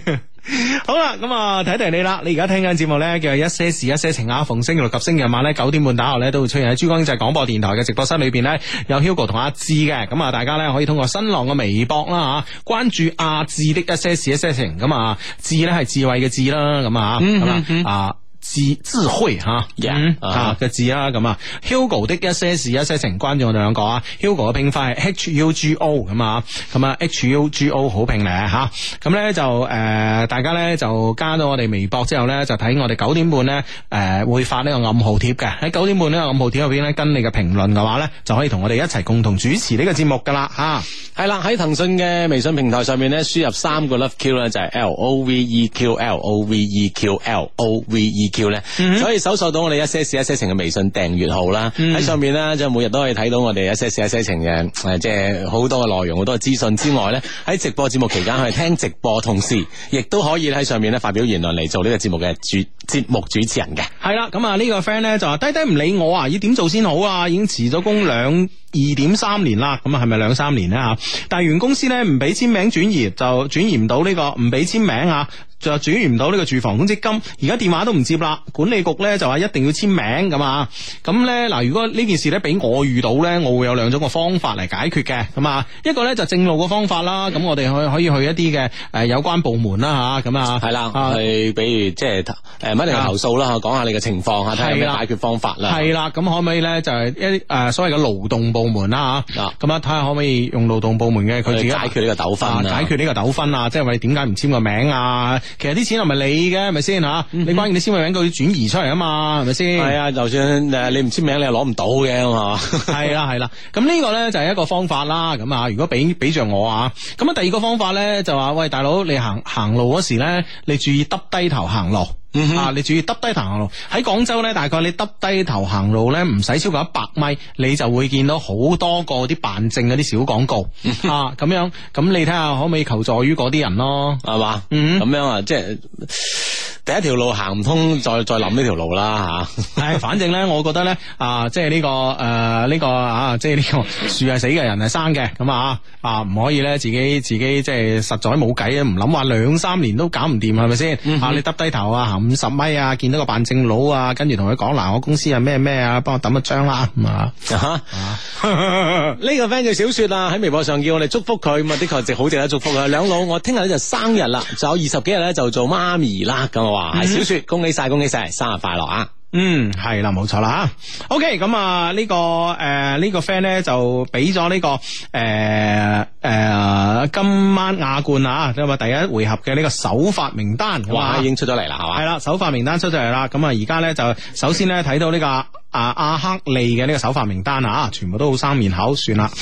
好啦，咁啊睇睇你啦，你而家聽緊節目咧叫一些事一些情啊，逢星期六及星期日晚咧九點半打後咧都會出現喺珠江經濟廣播電台嘅直播室裏邊咧，有 Hugo 同阿志嘅，咁啊大家咧可以通過新浪嘅微博啦吓，關注阿志的一些事一些情，咁啊智咧係智慧嘅智啦，咁啊咁啊啊。智智慧吓，嗯啊嘅字啦，咁啊 Hugo 的一些事一些情，關注我哋兩個啊 Hugo 嘅拼法係 H U G O 咁啊，咁啊 H U G O 好拼咧吓，咁咧就誒、呃、大家咧就加到我哋微博之後咧，就睇我哋九點半咧誒、呃、會發呢個暗號貼嘅，喺九點半呢個暗號貼入邊咧，跟你嘅評論嘅話咧，就可以同我哋一齊共同主持呢個節目噶啦吓。 係啦，喺騰訊嘅微信平台上面咧，輸入三個 Love Q 咧，就係 L O V E Q L O V E Q L O V E Q 咧，所以搜索到我哋一些事一些情嘅微信訂閱號啦。喺、mm-hmm. 上面咧，即係每日都可以睇到我哋一些事一些情嘅誒，即係好多嘅內容，好多嘅資訊之外咧，喺直播節目期間可以聽直播，同時亦都可以喺上面咧發表言論嚟做呢個節目嘅主節目主持人嘅。 係啦，咁啊呢個 friend 咧就話低低唔理我啊，要點做先好啊？已經辭咗工兩二點三年啦，咁啊係咪兩三年咧吓？但係原公司咧唔俾簽名轉移，就轉移唔到呢個唔俾簽名啊，就轉移唔到呢個住房公積金，而家電話都唔接啦。管理局咧就話一定要簽名咁啊。咁咧嗱，如果呢件事咧俾我遇到咧，我會有兩種嘅方法嚟解決嘅。咁啊，一個咧就正路嘅方法啦。咁我哋可可以去一啲嘅誒有關部門啦吓。咁啊係啦，去比如即係誒唔一定係投訴啦，講下你嘅情況吓，睇下有咩解決方法啦。係啦，咁可唔可以咧就係一啲誒所謂嘅勞動部門啦吓。咁啊睇下可唔可以用勞動部門嘅佢自己解決呢個糾紛啊， 解決呢個糾紛啊，即係話你點解唔簽個名啊？其實啲錢係咪你嘅？係咪先吓？你關鍵你簽個名佢要轉移出嚟啊嘛，係咪先？係啊， 就算誒你唔簽名，你又攞唔到嘅嘛。 係啦係啦，咁呢個咧就係一個方法啦。咁啊，如果俾俾着我啊，咁啊第二個方法咧就話喂大佬，你行行路嗰時咧，你注意耷低頭行路。嗯、啊！你注意耷低頭行路，喺廣州咧，大概你耷低頭行路咧，唔使超過一百米，你就會見到好多個啲辦證嗰啲小廣告啊！咁樣，咁你睇下可唔可以求助於嗰啲人咯？係嘛？嗯， 咁樣啊，即係第一條路行唔通，再再諗呢條路啦吓。 係，反正咧，我覺得咧啊，即係呢、這個誒呢、呃這個啊，即係呢個樹係死嘅人係生嘅，咁啊啊唔可以咧自己自己即係實在冇計啊，唔諗話兩三年都搞唔掂係咪先？啊，你耷低頭啊行五十米啊，見到個辦證佬啊，跟住同佢講嗱，我公司係咩咩啊，幫我抌一張啦，咁啊， 呢個 friend 叫小雪啊，喺微博上叫我哋祝福佢，咁啊的確值好值得祝福啊！兩老，我聽日咧就生日啦，仲有二十幾日咧就做媽咪啦，咁我話係小雪，恭喜晒，恭喜晒，生日快樂啊！ 嗯，係啦，冇錯啦吓。OK，咁啊呢個誒呢、呃這個 friend 咧就俾咗呢個誒誒、呃呃、今晚亞冠啊，即係話第一回合嘅呢個首發名單， 哇，已經出咗嚟啦，係嘛？ 係啦，首發名單出咗嚟啦。咁啊而家咧就首先咧睇到呢、這個啊阿克利嘅呢個首發名單啊，全部都好生面口，算啦。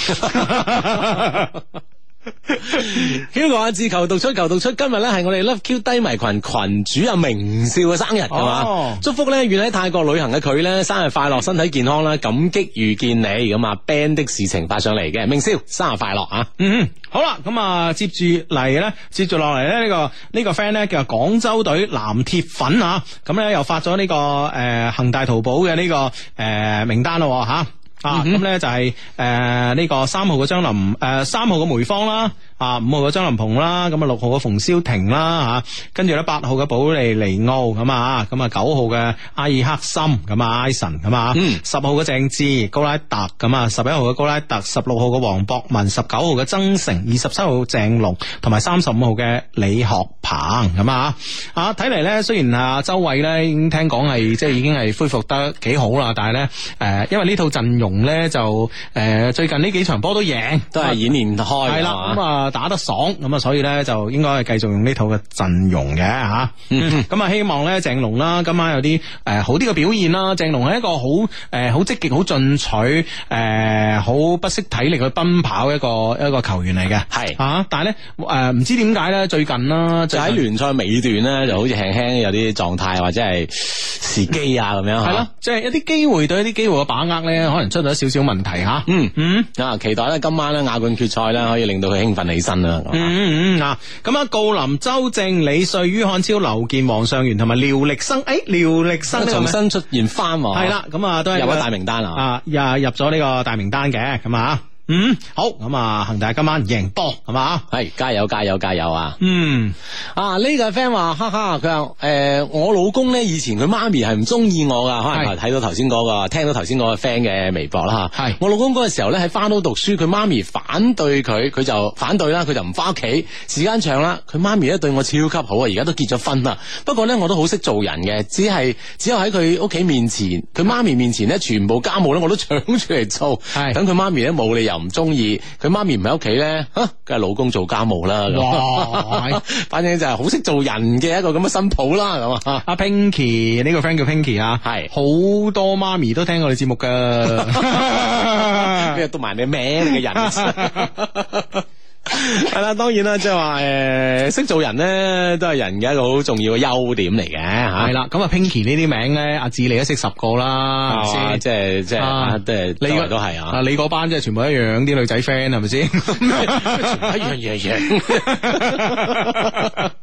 Hugo 阿志求讀出求讀出，今日咧係我哋 Love Q 低迷群群主阿明少嘅生日，係嘛、哦？祝福咧遠喺泰國旅行嘅佢咧生日快樂，身體健康啦，感激遇見你咁啊 band 的事情發上嚟嘅，明少生日快樂啊！嗯， 好啦，咁啊接住嚟咧，接住落嚟咧呢個呢個 friend 咧叫廣州隊藍鐵粉啊，咁咧又發咗呢、這個誒恒、呃、大淘寶嘅呢個誒、呃、名單咯吓。啊，咁、嗯、咧就係誒呢個三號嘅張林誒三號嘅梅芳啦，啊五號嘅張林鵬啦，咁啊六號嘅馮瀟霆啦吓，跟住咧八號嘅保利尼奧咁啊，咁啊九號嘅阿爾克森咁啊 Ison 咁啊，十號嘅鄭智高拉特咁啊，十一號嘅高拉特，十六號嘅黃博文，十九號嘅曾誠，二十七號鄭龍，同埋三十五號嘅李學鵬咁啊，啊睇嚟咧雖然啊周偉咧已經聽講係即係已經係恢復得幾好啦，但係咧誒因為呢套陣容咧就誒、呃、最近呢幾場波都贏， 都係演練開，係啦咁啊打得爽，咁啊所以咧就應該係繼續用呢套嘅陣容嘅吓，咁、嗯、啊希望咧鄭龍啦今晚有啲誒、呃、好啲嘅表現啦。鄭龍係一個好誒好積極、好進取、誒好不惜體力去奔跑一個一個球員嚟嘅，係啊，但係咧誒唔知點解咧最近啦就喺聯賽尾段咧就好似輕輕有啲狀態或者係時機啊咁樣，係咯， 即係一啲機會對一啲機會嘅把握咧可能出咗少少問題吓，嗯嗯啊，期待咧今晚咧亞冠決賽咧可以令到佢興奮起身啦。 嗯嗯啊，咁啊，郜林、周正、李瑞、于漢超、劉健、黃尚元同埋廖力生，誒，廖力生重新出現翻， 係啦，咁啊都係入咗大名單啊， 啊入入咗呢個大名單嘅，咁啊。 嗯，好，咁啊，恒大今晚贏波係嘛？ 係加油加油加油啊！ 嗯， 啊呢、這個 friend 話，哈哈，佢話誒我老公咧以前佢媽咪係唔中意我噶，可能睇到頭先嗰個，聽到頭先嗰個 friend 嘅微博啦吓。係我老公嗰個時候咧喺翻到讀書，佢媽咪反對佢，佢就反對啦，佢就唔翻屋企。時間長啦，佢媽咪咧對我超級好啊，而家都結咗婚啦。不過咧我都好識做人嘅，只係只有喺佢屋企面前，佢媽咪面前咧，全部家務咧我都搶出嚟做。係等佢媽咪咧冇理由唔中意，佢媽咪唔喺屋企咧，吓梗係老公做家務啦。哇，反正就係好識做人嘅一個咁嘅新抱啦。咁啊，阿 Pinky 呢個 friend 叫 Pinky 啊，係好多媽咪都聽我哋節目噶， 咩讀埋你名你嘅人。係啦，當然啦，即係話誒，識做人咧，都係人嘅一個好重要嘅優點嚟嘅吓。 係啦，咁啊 Pinky 呢啲名咧，阿志你都識十個啦， 係嘛？即係即係，即係你個都係啊！ 你嗰班即係全部一樣，啲女仔 friend 係咪先？ 一樣嘢樣。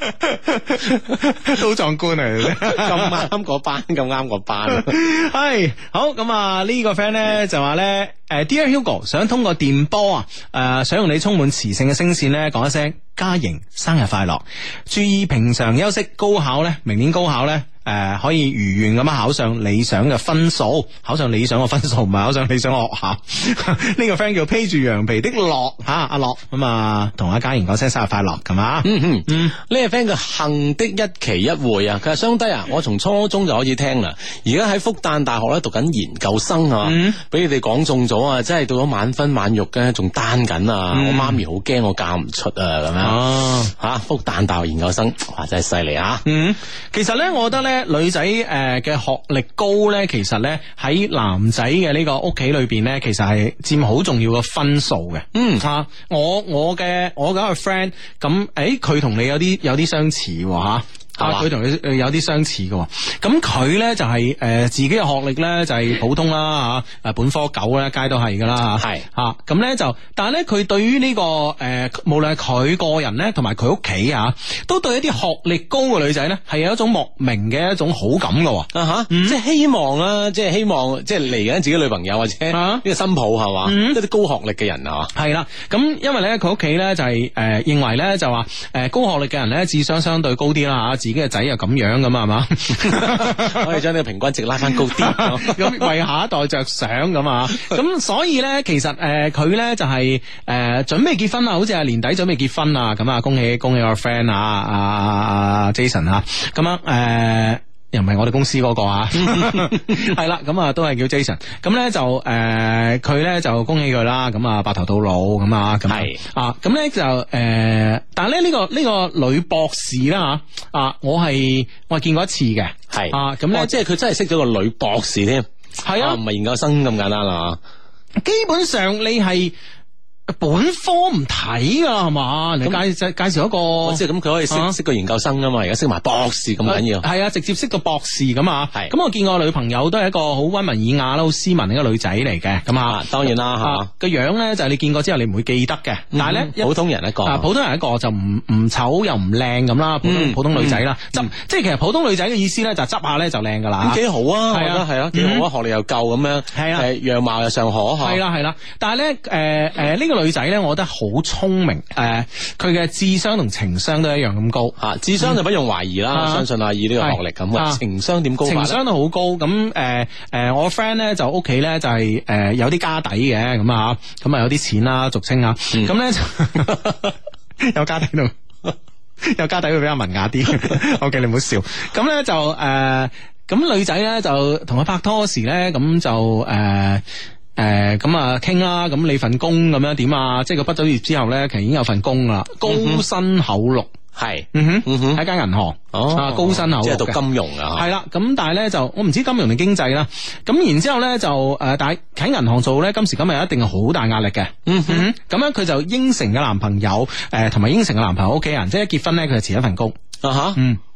都壯觀嚟， 咁啱嗰班，咁啱嗰班。 係好咁啊！呢個 friend 咧就話咧，誒，Dear Hugo，想通過電波啊，誒，想用你充滿磁性嘅聲線咧，講一聲嘉瑩生日快樂，注意平常休息，高考咧，明年高考咧。誒、呃，可以如願咁樣考上理想嘅分數，考上理想嘅分數，唔係考上理想嘅學校。呢個 friend 叫披住羊皮的樂吓，阿樂咁啊，同阿嘉瑩講聲生日快樂，係嘛？嗯嗯嗯， 呢個 friend 叫幸的一期一會啊，佢話雙低啊，我從初中就開始聽啦，而家喺復旦大學咧讀緊研究生啊，俾、嗯、你哋講中咗啊，真係到咗晚婚晚育嘅，仲單緊啊，嗯、我媽咪好驚我嫁唔出啊，咁樣哦吓，復旦大學研究生，哇，真係犀利啊！ 嗯，其實咧，我覺得咧。女仔誒嘅學歷高咧，其實咧喺男仔嘅呢個屋企裏邊咧，其實係佔好重要嘅分數嘅。嗯啊，我我嘅我嗰個 friend 咁，誒佢同你有啲有啲相似喎吓。啊！佢同你有啲相似嘅，咁佢咧就係、是、誒、呃、自己嘅學歷咧就係、是、普通啦吓，誒本科九咧，皆都係噶啦吓，係吓咁咧就，但係咧佢對於呢、這個誒、呃，無論係佢個人咧，同埋佢屋企啊，都對一啲學歷高嘅女仔咧，係有一種莫名嘅一種好感嘅，啊吓，嗯、即係希望啦，即係希望，即係嚟緊自己女朋友或者呢個新抱係嘛，嗯、一啲高學歷嘅人啊，係啦，咁因為咧佢屋企咧就係、是、誒、呃、認為咧就話誒高學歷嘅人咧智商相對高啲啦吓。自己嘅仔又咁樣咁啊嘛，可以將呢個平均值拉翻高啲，咁為下一代着想咁啊，咁所以咧，其實誒佢咧就係、是、誒、呃、準備結婚啊，好似係年底準備結婚啊，咁啊恭喜恭喜我 friend 啊啊啊 Jason 啊，咁樣誒。呃又唔係我哋公司嗰個啊，係啦，咁啊都係叫 Jason，咁咧就誒佢咧就恭喜佢啦，咁啊白頭到老咁啊，咁係啊，咁咧就誒、呃，但係咧呢個呢、這個女博士啦吓啊，我係我係見過一次嘅，係啊，咁咧、哦、即係佢真係識咗個女博士添，係啊，唔係研究生咁簡單啦，基本上你係。本科唔睇噶係嘛？你介介介紹一個，即係咁佢可以識、啊、識個研究生啊嘛，而家識埋博士咁緊要。係啊，直接識個博士咁啊。係。咁我見我女朋友都係一個好溫文爾雅啦，好斯文嘅一個女仔嚟嘅。咁啊，當然啦吓。個樣咧就係你見過之後你唔會記得嘅。但係咧，普通人一個。啊，普通人一個就唔唔醜又唔靚咁啦。普通普通女仔啦，執即係其實普通女仔嘅意思咧就執下咧就靚噶啦。幾好啊，係啊係啊，幾好啊，學歷又夠咁樣。係啊，誒樣貌又尚可吓。係啦係啦，但係咧誒誒呢個女仔咧，我覺得好聰明，誒、呃，佢嘅智商同情商都一樣咁高，吓、啊、智商就不用懷疑啦，嗯、我相信啊以呢個學歷咁，啊、情商點高？情商都好高，咁誒誒，我 friend 咧就屋企咧就係、是、誒、呃、有啲家底嘅，咁啊，咁啊有啲錢啦，俗稱啊，咁咧就有家底度，有家底會比較文雅啲，OK 你唔好笑，咁咧就誒，咁、呃、女仔咧就同佢拍拖時咧，咁就誒。呃誒，咁啊傾啦，咁你份工咁樣點啊？即係佢畢咗業之後咧，其實已經有份工啦，高薪厚祿，係，嗯哼，嗯哼，喺間銀行，哦，高薪厚祿，即係讀金融啊，係啦，咁但係咧就我唔知金融定經濟啦，咁然之後咧就誒，但係喺銀行做咧，今時今日一定係好大壓力嘅，嗯哼，咁樣佢就應承嘅男朋友，誒，同埋應承嘅男朋友屋企人，即係一結婚咧，佢就辭一份工。啊吓，嗯，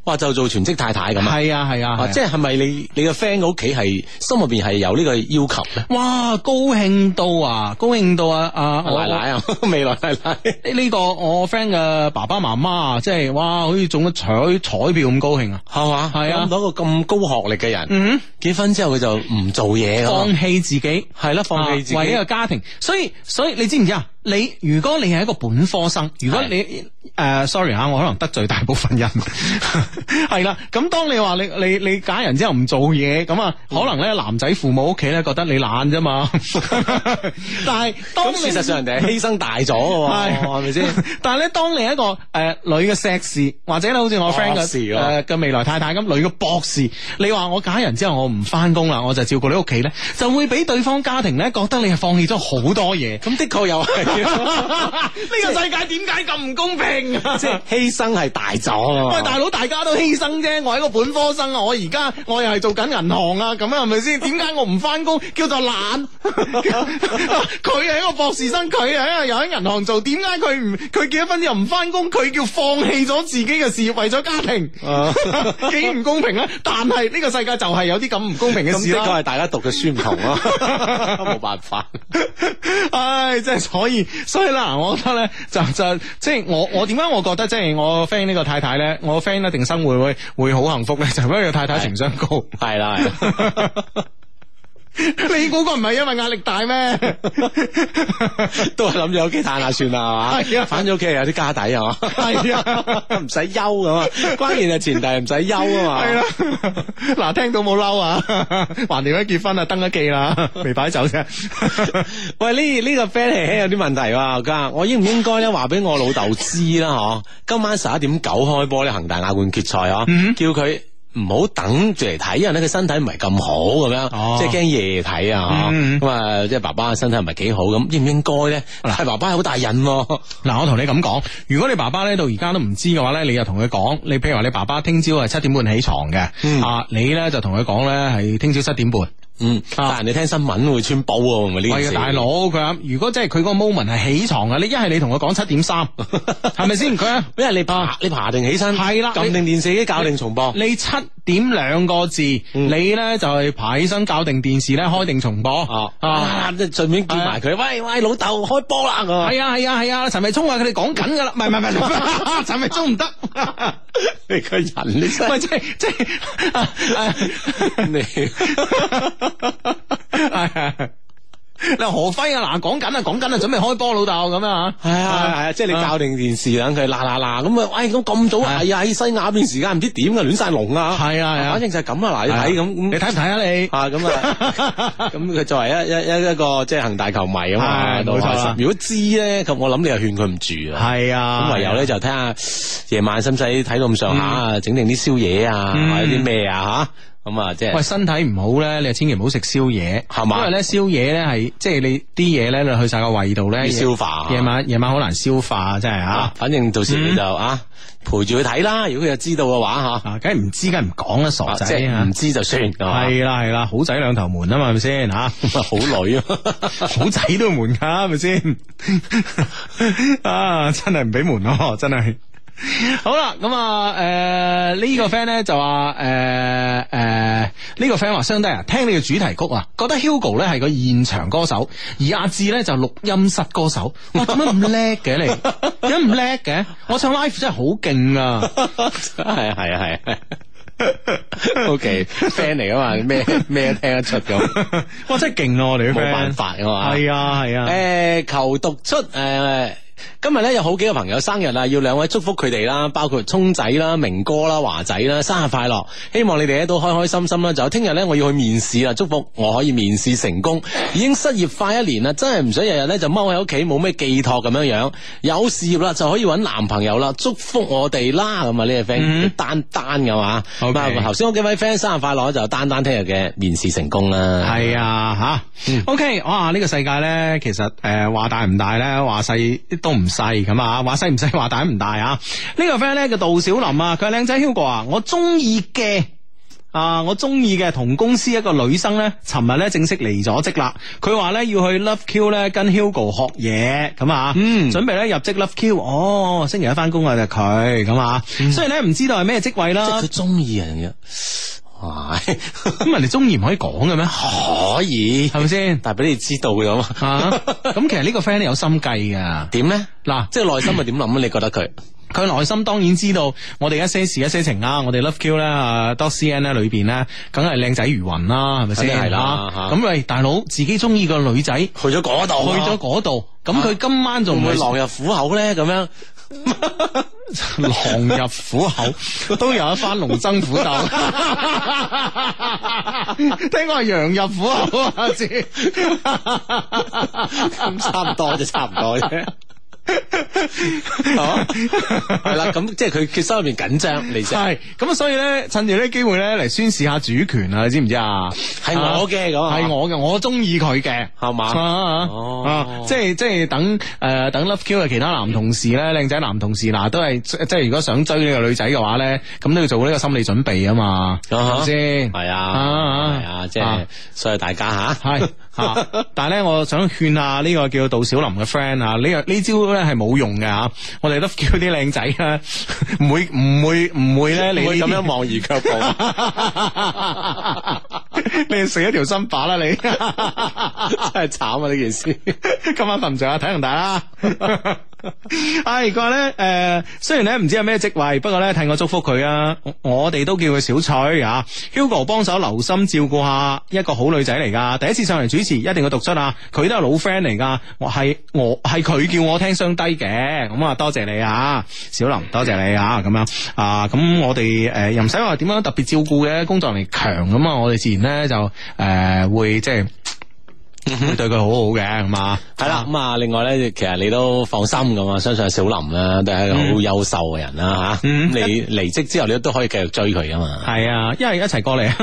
哇，就做全職太太咁啊？ 係啊係啊， 啊即係係咪你你個 friend 嘅屋企係心入邊係有呢個要求咧？ 哇，高興到啊，高興到啊啊奶奶啊，未來奶奶呢個我 friend 嘅爸爸媽媽啊，即係哇，好似中咗彩彩票咁高興啊， 係嘛？ 係啊， 諗到一個咁高學歷嘅人， 嗯， 結婚之後佢就唔做嘢， 放棄自己， 係啦，放棄自己為一個家庭，所以所以你知唔知啊？你如果你係一個本科生，如果你誒、呃、sorry 啊，我可能得罪大部分人，係啦。咁當你話你你你嫁人之後唔做嘢，咁啊，可能咧男仔父母屋企咧覺得你懶啫嘛。但係當事實上人哋係犧牲大咗嘅，係咪先？ 但係咧，當你係一個誒、呃、女嘅碩士，或者咧好似我 friend 嘅誒嘅未來太太咁，女嘅博士，你話我嫁人之後我唔翻工啦，我就照顧你屋企咧，就會俾對方家庭咧覺得你係放棄咗好多嘢。咁的確又係。呢個世界點解咁唔公平啊？ 即係犧牲係大咗。 喂，大佬，大家都犧牲啫。我係一個本科生啊，我而家我又係做緊銀行啊，咁係咪先？點解我唔翻工叫做懶？佢係一個博士生，佢係又喺銀行做，點解佢唔佢結咗婚之後唔翻工？佢叫放棄咗自己嘅事業為咗家庭，幾唔公平啊！但係呢個世界就係有啲咁唔公平嘅事啦。 咁的確係大家讀嘅書唔同咯，冇辦法。 唉，即係所以。所以啦，我覺得咧就就即係我我點解我覺得即係我 friend 呢個太太咧，我 friend 一定生活會會好幸福咧，就因為個太太情商高， 係啦係。 你估個唔係因為壓力大咩？ 都係諗住屋企嘆下算啦，係嘛？係啊，反正屋企有啲家底係嘛？ 係啊， 唔使憂咁啊！關鍵係前提唔使憂啊嘛。 係啦，嗱，聽到冇嬲啊？橫掂一結婚啊，登咗記啦，未擺酒啫。 喂，呢呢個 friend 係有啲問題喎，家我應唔應該咧話俾我老豆知啦？嗬，今晚十一點九開波咧，恒大亞冠決賽嗬，嗯、叫佢。唔好等住嚟睇，因為咧佢身體唔係咁好咁樣，哦、即係驚夜睇啊！咁啊、嗯，即係爸爸身體唔係幾好，咁應唔應該咧？係爸爸好大癮。嗱， 我同你咁講，如果你爸爸咧到而家都唔知嘅話咧，你就同佢講，你譬如話你爸爸聽朝係七點半起床嘅，嗯、啊，你咧就同佢講咧係聽朝七點半。 嗯，但係你聽新聞會穿煲喎，咪呢件事？ 係啊，大佬佢如果真係佢嗰個 moment 係起床啊，你一係你同佢講七點三，係咪先？佢因為你爬你爬定起身， 係啦， 撳定電視機校定重播。 你七點兩個字，嗯、你咧就係爬起身校定電視咧，開定重播。哦啊，即係順便叫埋佢，喂喂，老豆開波啦！係啊係啊係啊，陳偉聰話佢哋講緊噶啦，唔係唔係唔係，陳偉聰唔得。 你個人你真係即係即係你。你話何輝啊，嗱講緊啊講緊啊，準備開波老豆咁啊， 係啊係啊，即係你校定電視等佢嗱嗱嗱咁啊，喂咁咁早啊，係啊喺西亞邊時間唔知點啊亂晒龍啊，係啊係啊，反正就係咁啊，嗱你睇咁，你睇唔睇啊你啊咁啊，咁佢作為一一一一個即係恒大球迷啊嘛，冇錯。如果知咧，咁我諗你又勸佢唔住啊，係啊，咁唯有咧就睇下夜晚使唔使睇到咁上下啊，整定啲宵夜啊，或者啲咩啊吓。咁啊，即係喂，身體唔好咧，你千祈唔好食宵夜，係嘛？因為咧宵夜咧係即係你啲嘢咧，你去晒個胃度咧，消化。夜晚夜晚好難消化，真係啊！反正到時你就啊陪住佢睇啦。如果佢又知道嘅話吓，梗係唔知，梗係唔講啦，傻仔，唔知就算。係啦係啦，好仔兩頭瞞啊嘛，係咪先吓？好女啊，好仔都要瞞噶，係咪先？啊，真係唔俾瞞咯，真係。好啦，咁啊，誒、呃，呢、這個 friend 咧就話，誒、呃，誒、呃，呢、這個 friend 話，相弟啊，聽你嘅主題曲啊，覺得 Hugo 咧係個現場歌手，而阿志咧就錄音室歌手。哇，點解咁叻嘅你？點解唔叻嘅？我唱 live 真係好勁啊！係啊，係啊，係啊。O K，friend 嚟噶嘛？咩咩都聽得出咁。哇，真係勁啊！我哋啲 friend 冇辦法噶嘛。係啊，係啊。誒、呃，求讀出誒。呃今日咧有好幾個朋友生日啦，要兩位祝福佢哋啦，包括聰仔啦、明哥啦、華仔啦，生日快樂！希望你哋咧都開開心心啦。就聽日咧我要去面試啦，祝福我可以面試成功。已經失業快一年啦，真係唔想日日咧就踎喺屋企冇咩寄託咁樣樣。有事業啦就可以搵男朋友啦，祝福我哋啦。咁啊呢個 friend 丹丹噶嘛，咁啊頭先嗰幾位 friend 生日快樂，就丹丹聽日嘅面試成功啦。係啊吓、嗯、，OK， 哇呢、這個世界咧其實誒話、呃、大唔大咧，話細都唔細咁啊，話細唔細，話大唔大啊？呢、這個 friend 咧叫杜小林啊，佢係靚仔 Hugo 啊，我中意嘅啊，我中意嘅同公司一個女生咧，尋日咧正式離咗職啦。佢話咧要去 Love Q 咧跟 Hugo 學嘢咁啊，嗯，準備咧入職 Love Q。哦，星期一翻工啊就佢咁啊，所以咧唔知道係咩職位啦。 即係佢中意人嘅。哇！ 咁人哋中意唔可以講嘅咩？ 可以，係咪先？但係俾你知道嘅嘛。 咁其實呢個 friend 咧有心計噶。 點咧？ 嗱， 即係內心係點諗啊？你覺得佢？ 佢內心當然知道我哋一些事一些情啦，我哋 Love Q 咧啊 dot C N 咧裏邊咧，梗係靚仔如雲啦，係咪先？ 係啦。 咁喂，大佬自己中意個女仔， 去咗嗰度， 去咗嗰度，咁佢今晚仲會狼入虎口咧？咁樣。 狼入虎口都有一番龍爭虎鬥，聽講係羊入虎口啊！知咁差唔多啫，差唔多啫。係啦，咁即係佢佢心入邊緊張，你知係咁，所以咧趁住呢機會咧嚟宣示下主權啊！你知唔知啊？ 係我嘅咁， 係我嘅，我中意佢嘅，係嘛？哦，即係即係等誒等 Love Q 嘅其他男同事咧，靚仔男同事嗱，都係即係如果想追呢個女仔嘅話咧，咁都要做呢個心理準備啊嘛，係咪先？ 係啊，係啊，即係所以大家吓係吓，但係咧，我想勸下呢個叫杜小林嘅 friend 啊，呢個呢招咧係冇用嘅吓，我哋 Love Q 啲靚仔咧，唔會唔會唔會咧，你咁樣望而卻步， 你食一條新把啦，你真係慘啊呢件事， 今晚瞓唔着啊，睇唔大啦。唉，佢話咧，誒，雖然咧唔知係咩職位，不過咧替我祝福佢啊，我哋都叫佢小翠啊。Hugo 幫手留心照顧下一個好女仔嚟噶，第一次上嚟主持，一定要讀出啊。佢都係老 friend 嚟噶，我係我係佢叫我聽雙低嘅，咁啊多謝你啊，小林，多謝你啊，咁樣啊，咁我哋誒又唔使話點樣特別照顧嘅，工作能力強咁啊，我哋自然咧就誒、呃、會即係。會對佢好好嘅，咁啊， 係啦，咁啊，另外咧，其實你都放心咁啊，相信小林啦，都係一個好優秀嘅人啦，吓、嗯，咁你離職之後，你都可以繼續追佢噶嘛， 係啊，一係一齊過嚟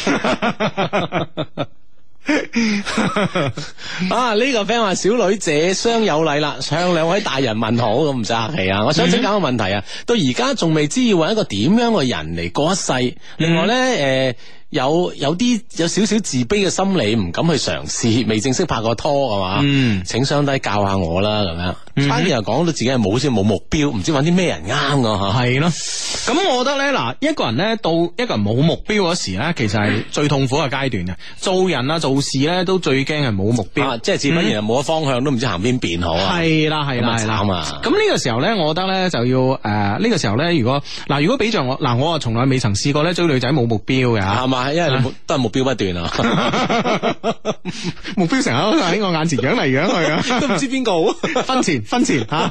啊！ 啊，呢、這個 friend 話小女謝相有禮啦，向兩位大人問好，咁唔使客氣啊！我想請教個問題啊，到而家仲未知要搵一個點樣嘅人嚟過一世，另外咧，誒、呃。有有啲有少少自卑嘅心理，唔敢去嘗試，未正式拍過拖係嘛？嗯，請雙低教下我啦，咁樣。反而又講到自己係冇好似冇目標，唔知揾啲咩人啱噶吓。 係咯，咁我覺得咧，嗱，一個人咧到一個人冇目標嗰時咧，其實係最痛苦嘅階段啊！做人啊，做事咧都最驚係冇目標， 啊、即係自不然係冇咗方向，都唔知行邊邊好啊！ 係啦，係啦，係啦。咁呢個時候咧，我覺得咧就要誒，呢、呃這個時候咧，如果嗱，如果俾着我嗱，我啊從來未曾試過咧追女仔冇目標嘅吓，係嘛？ 因為你都係目標不斷啊， 目標成日都喺我眼前揚嚟揚去啊，都唔知邊個好，分錢分錢吓，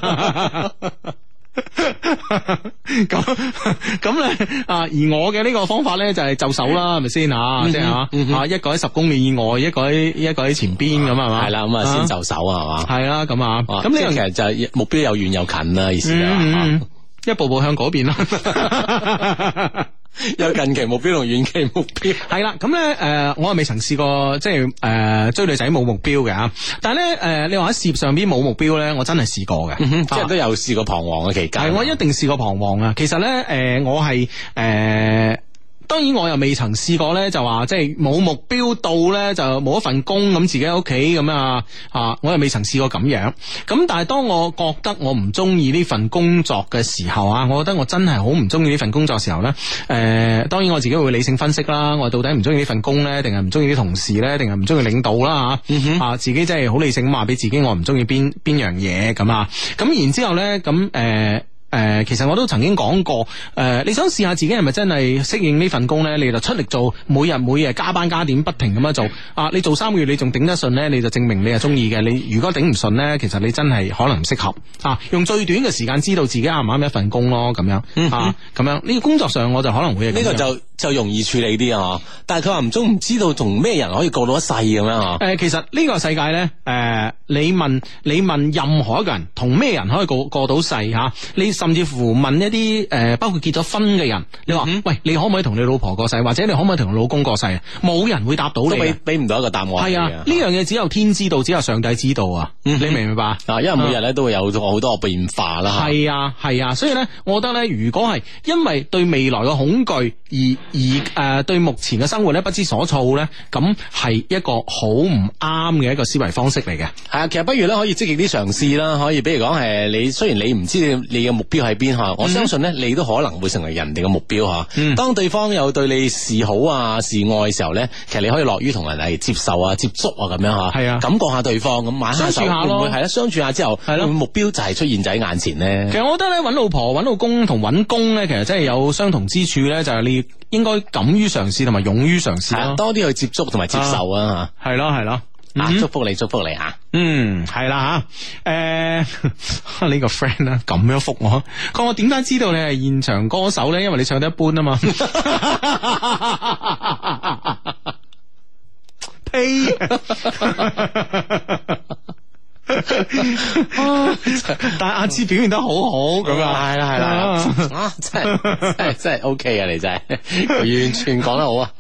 咁咁咧啊！而我嘅呢個方法咧就係就手啦，係咪先啊？即係啊，啊一個喺十公里以外，一個喺一個喺前邊咁係嘛？ 係啦，咁啊先就手啊係嘛？ 係啦，咁啊，咁呢樣其實就係目標又遠又近啦，意思啊， 一步步向嗰邊啦。 有近期目標同遠期目標係啦，咁咧誒，我係未曾試過即係誒、呃、追女仔冇目標嘅吓，但係咧誒，你話喺事業上邊冇目標咧，我真係試過嘅， 嗯、即係都有試過彷徨嘅期間。係我一定試過彷徨啊！其實咧誒、呃，我係誒。呃當然我又未曾試過咧，就話即係冇目標到咧，就冇一份工咁自己喺屋企咁啊啊！我又未曾試過咁樣。咁但係當我覺得我唔中意呢份工作嘅時候啊，我覺得我真係好唔中意呢份工作嘅時候咧。誒、呃，當然我自己會理性分析啦，我到底唔中意呢份工咧，定係唔中意啲同事咧，定係唔中意領導啦吓、嗯、啊！自己真係好理性咁話俾自己，我唔中意邊邊樣嘢咁啊！咁然之後咧，咁誒。呃誒、呃，其實我都曾經講過，誒、呃，你想試下自己係咪真係適應呢份工咧？你就出力做，每日每日加班加點，不停咁樣做。啊，你做三個月你仲頂得順咧，你就證明你係中意嘅。你如果頂唔順咧，其實你真係可能唔適合。啊，用最短嘅時間知道自己啱唔啱一份工咯，咁樣、嗯、哼啊，咁樣呢、這個工作上我就可能會係呢個就就容易處理啲啊。但係佢話唔中唔知道同咩人可以過到一世咁樣啊。誒、 呃，其實呢個世界咧，誒、呃，你問你問任何一個人同咩人可以過過到世吓、啊？你實甚至乎問一啲誒、呃，包括結咗婚嘅人，你話、嗯、喂，你可唔可以同你老婆過世，或者你可唔可以同你老公過世啊？冇人會答到你，都俾俾唔到一個答案。係啊， 呢樣嘢只有天知道，只有上帝知道啊！嗯、你明唔明白啊？ 因為每日咧都會有好多個變化啦。 係啊，係啊，所以咧，我覺得咧，如果係因為對未來嘅恐懼而而誒、呃、對目前嘅生活咧不知所措咧，咁係一個好唔啱嘅一個思維方式嚟嘅。 係啊，其實不如咧可以積極啲嘗試啦，可以比如講係你雖然你唔知你嘅目標喺邊吓，我相信咧你都可能會成為人哋嘅目標吓。嗯、當對方有對你示好啊示愛嘅時候咧，其實你可以樂於同人嚟接受啊接觸啊咁樣吓。係啊，感覺下對方咁玩下手，會唔會係咧？相處下之後，係咯，目標就係出現在眼前咧。 其實我覺得咧，搵老婆、搵老公同搵工咧，其實真係有相同之處咧，就係你應該敢於嘗試同埋勇於嘗試咯， 多啲去接觸同埋接受啊吓。 係咯係咯。 啊！祝福你，祝福你吓。 嗯，係啦吓。誒，呢個 friend 啊，咁樣覆我，講我點解知道你係現場歌手咧？因為你唱得一般啊嘛。呸！但係阿芝表現得好好咁啊， 係啦係啦，啊真係真係真係 OK 啊！你真係完全講得好啊。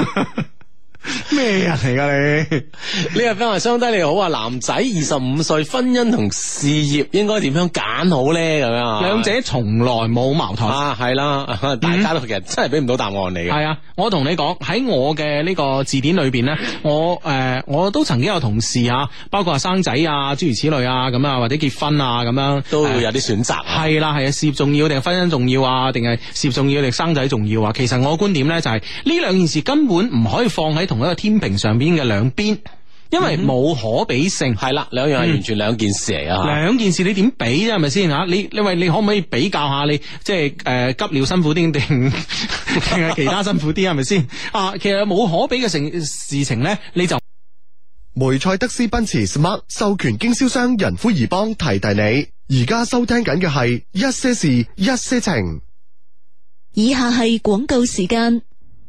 咩人嚟噶你？ 呢個 friend 話相低你好啊，男仔二十五歲，婚姻同事業應該點樣揀好咧？咁樣兩者從來冇矛盾啊，係啦，大家都其實真係俾唔到答案嚟嘅。 係啊，我同你講喺我嘅呢個字典裏邊咧，我誒、呃、我都曾經有同事啊，包括話生仔啊，諸如此類啊，咁啊或者結婚啊咁樣， 都會有啲選擇。 係啦係啊，事業重要定係婚姻重要啊？定係事業重要定生仔重要啊？其實我嘅觀點咧就係呢兩件事根本唔可以放喺同一個天平上邊嘅兩邊，因為冇可比性。係啦、嗯，兩樣係完全兩件事嚟啊！兩、嗯、件事你點比啫？係咪先吓？你你喂，你可唔可以比較下你即係誒、呃、急尿辛苦啲定定係其他辛苦啲？係咪先啊？其實冇可比嘅成事情咧，你就梅賽德斯奔馳 Smart 授權經銷商仁孚怡邦提提你，而家收聽緊嘅係一些事一些情。 以下係廣告時間。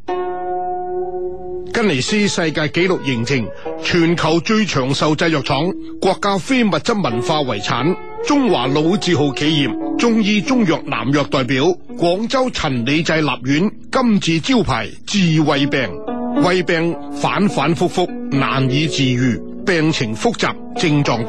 吉尼斯世界紀錄認證，全球最長壽製藥廠，國家非物質文化遺產，中華老字號企業，中醫中藥南藥代表，廣州陳李濟立院金字招牌治胃病，胃病反反复复難以治愈，病情複雜，症狀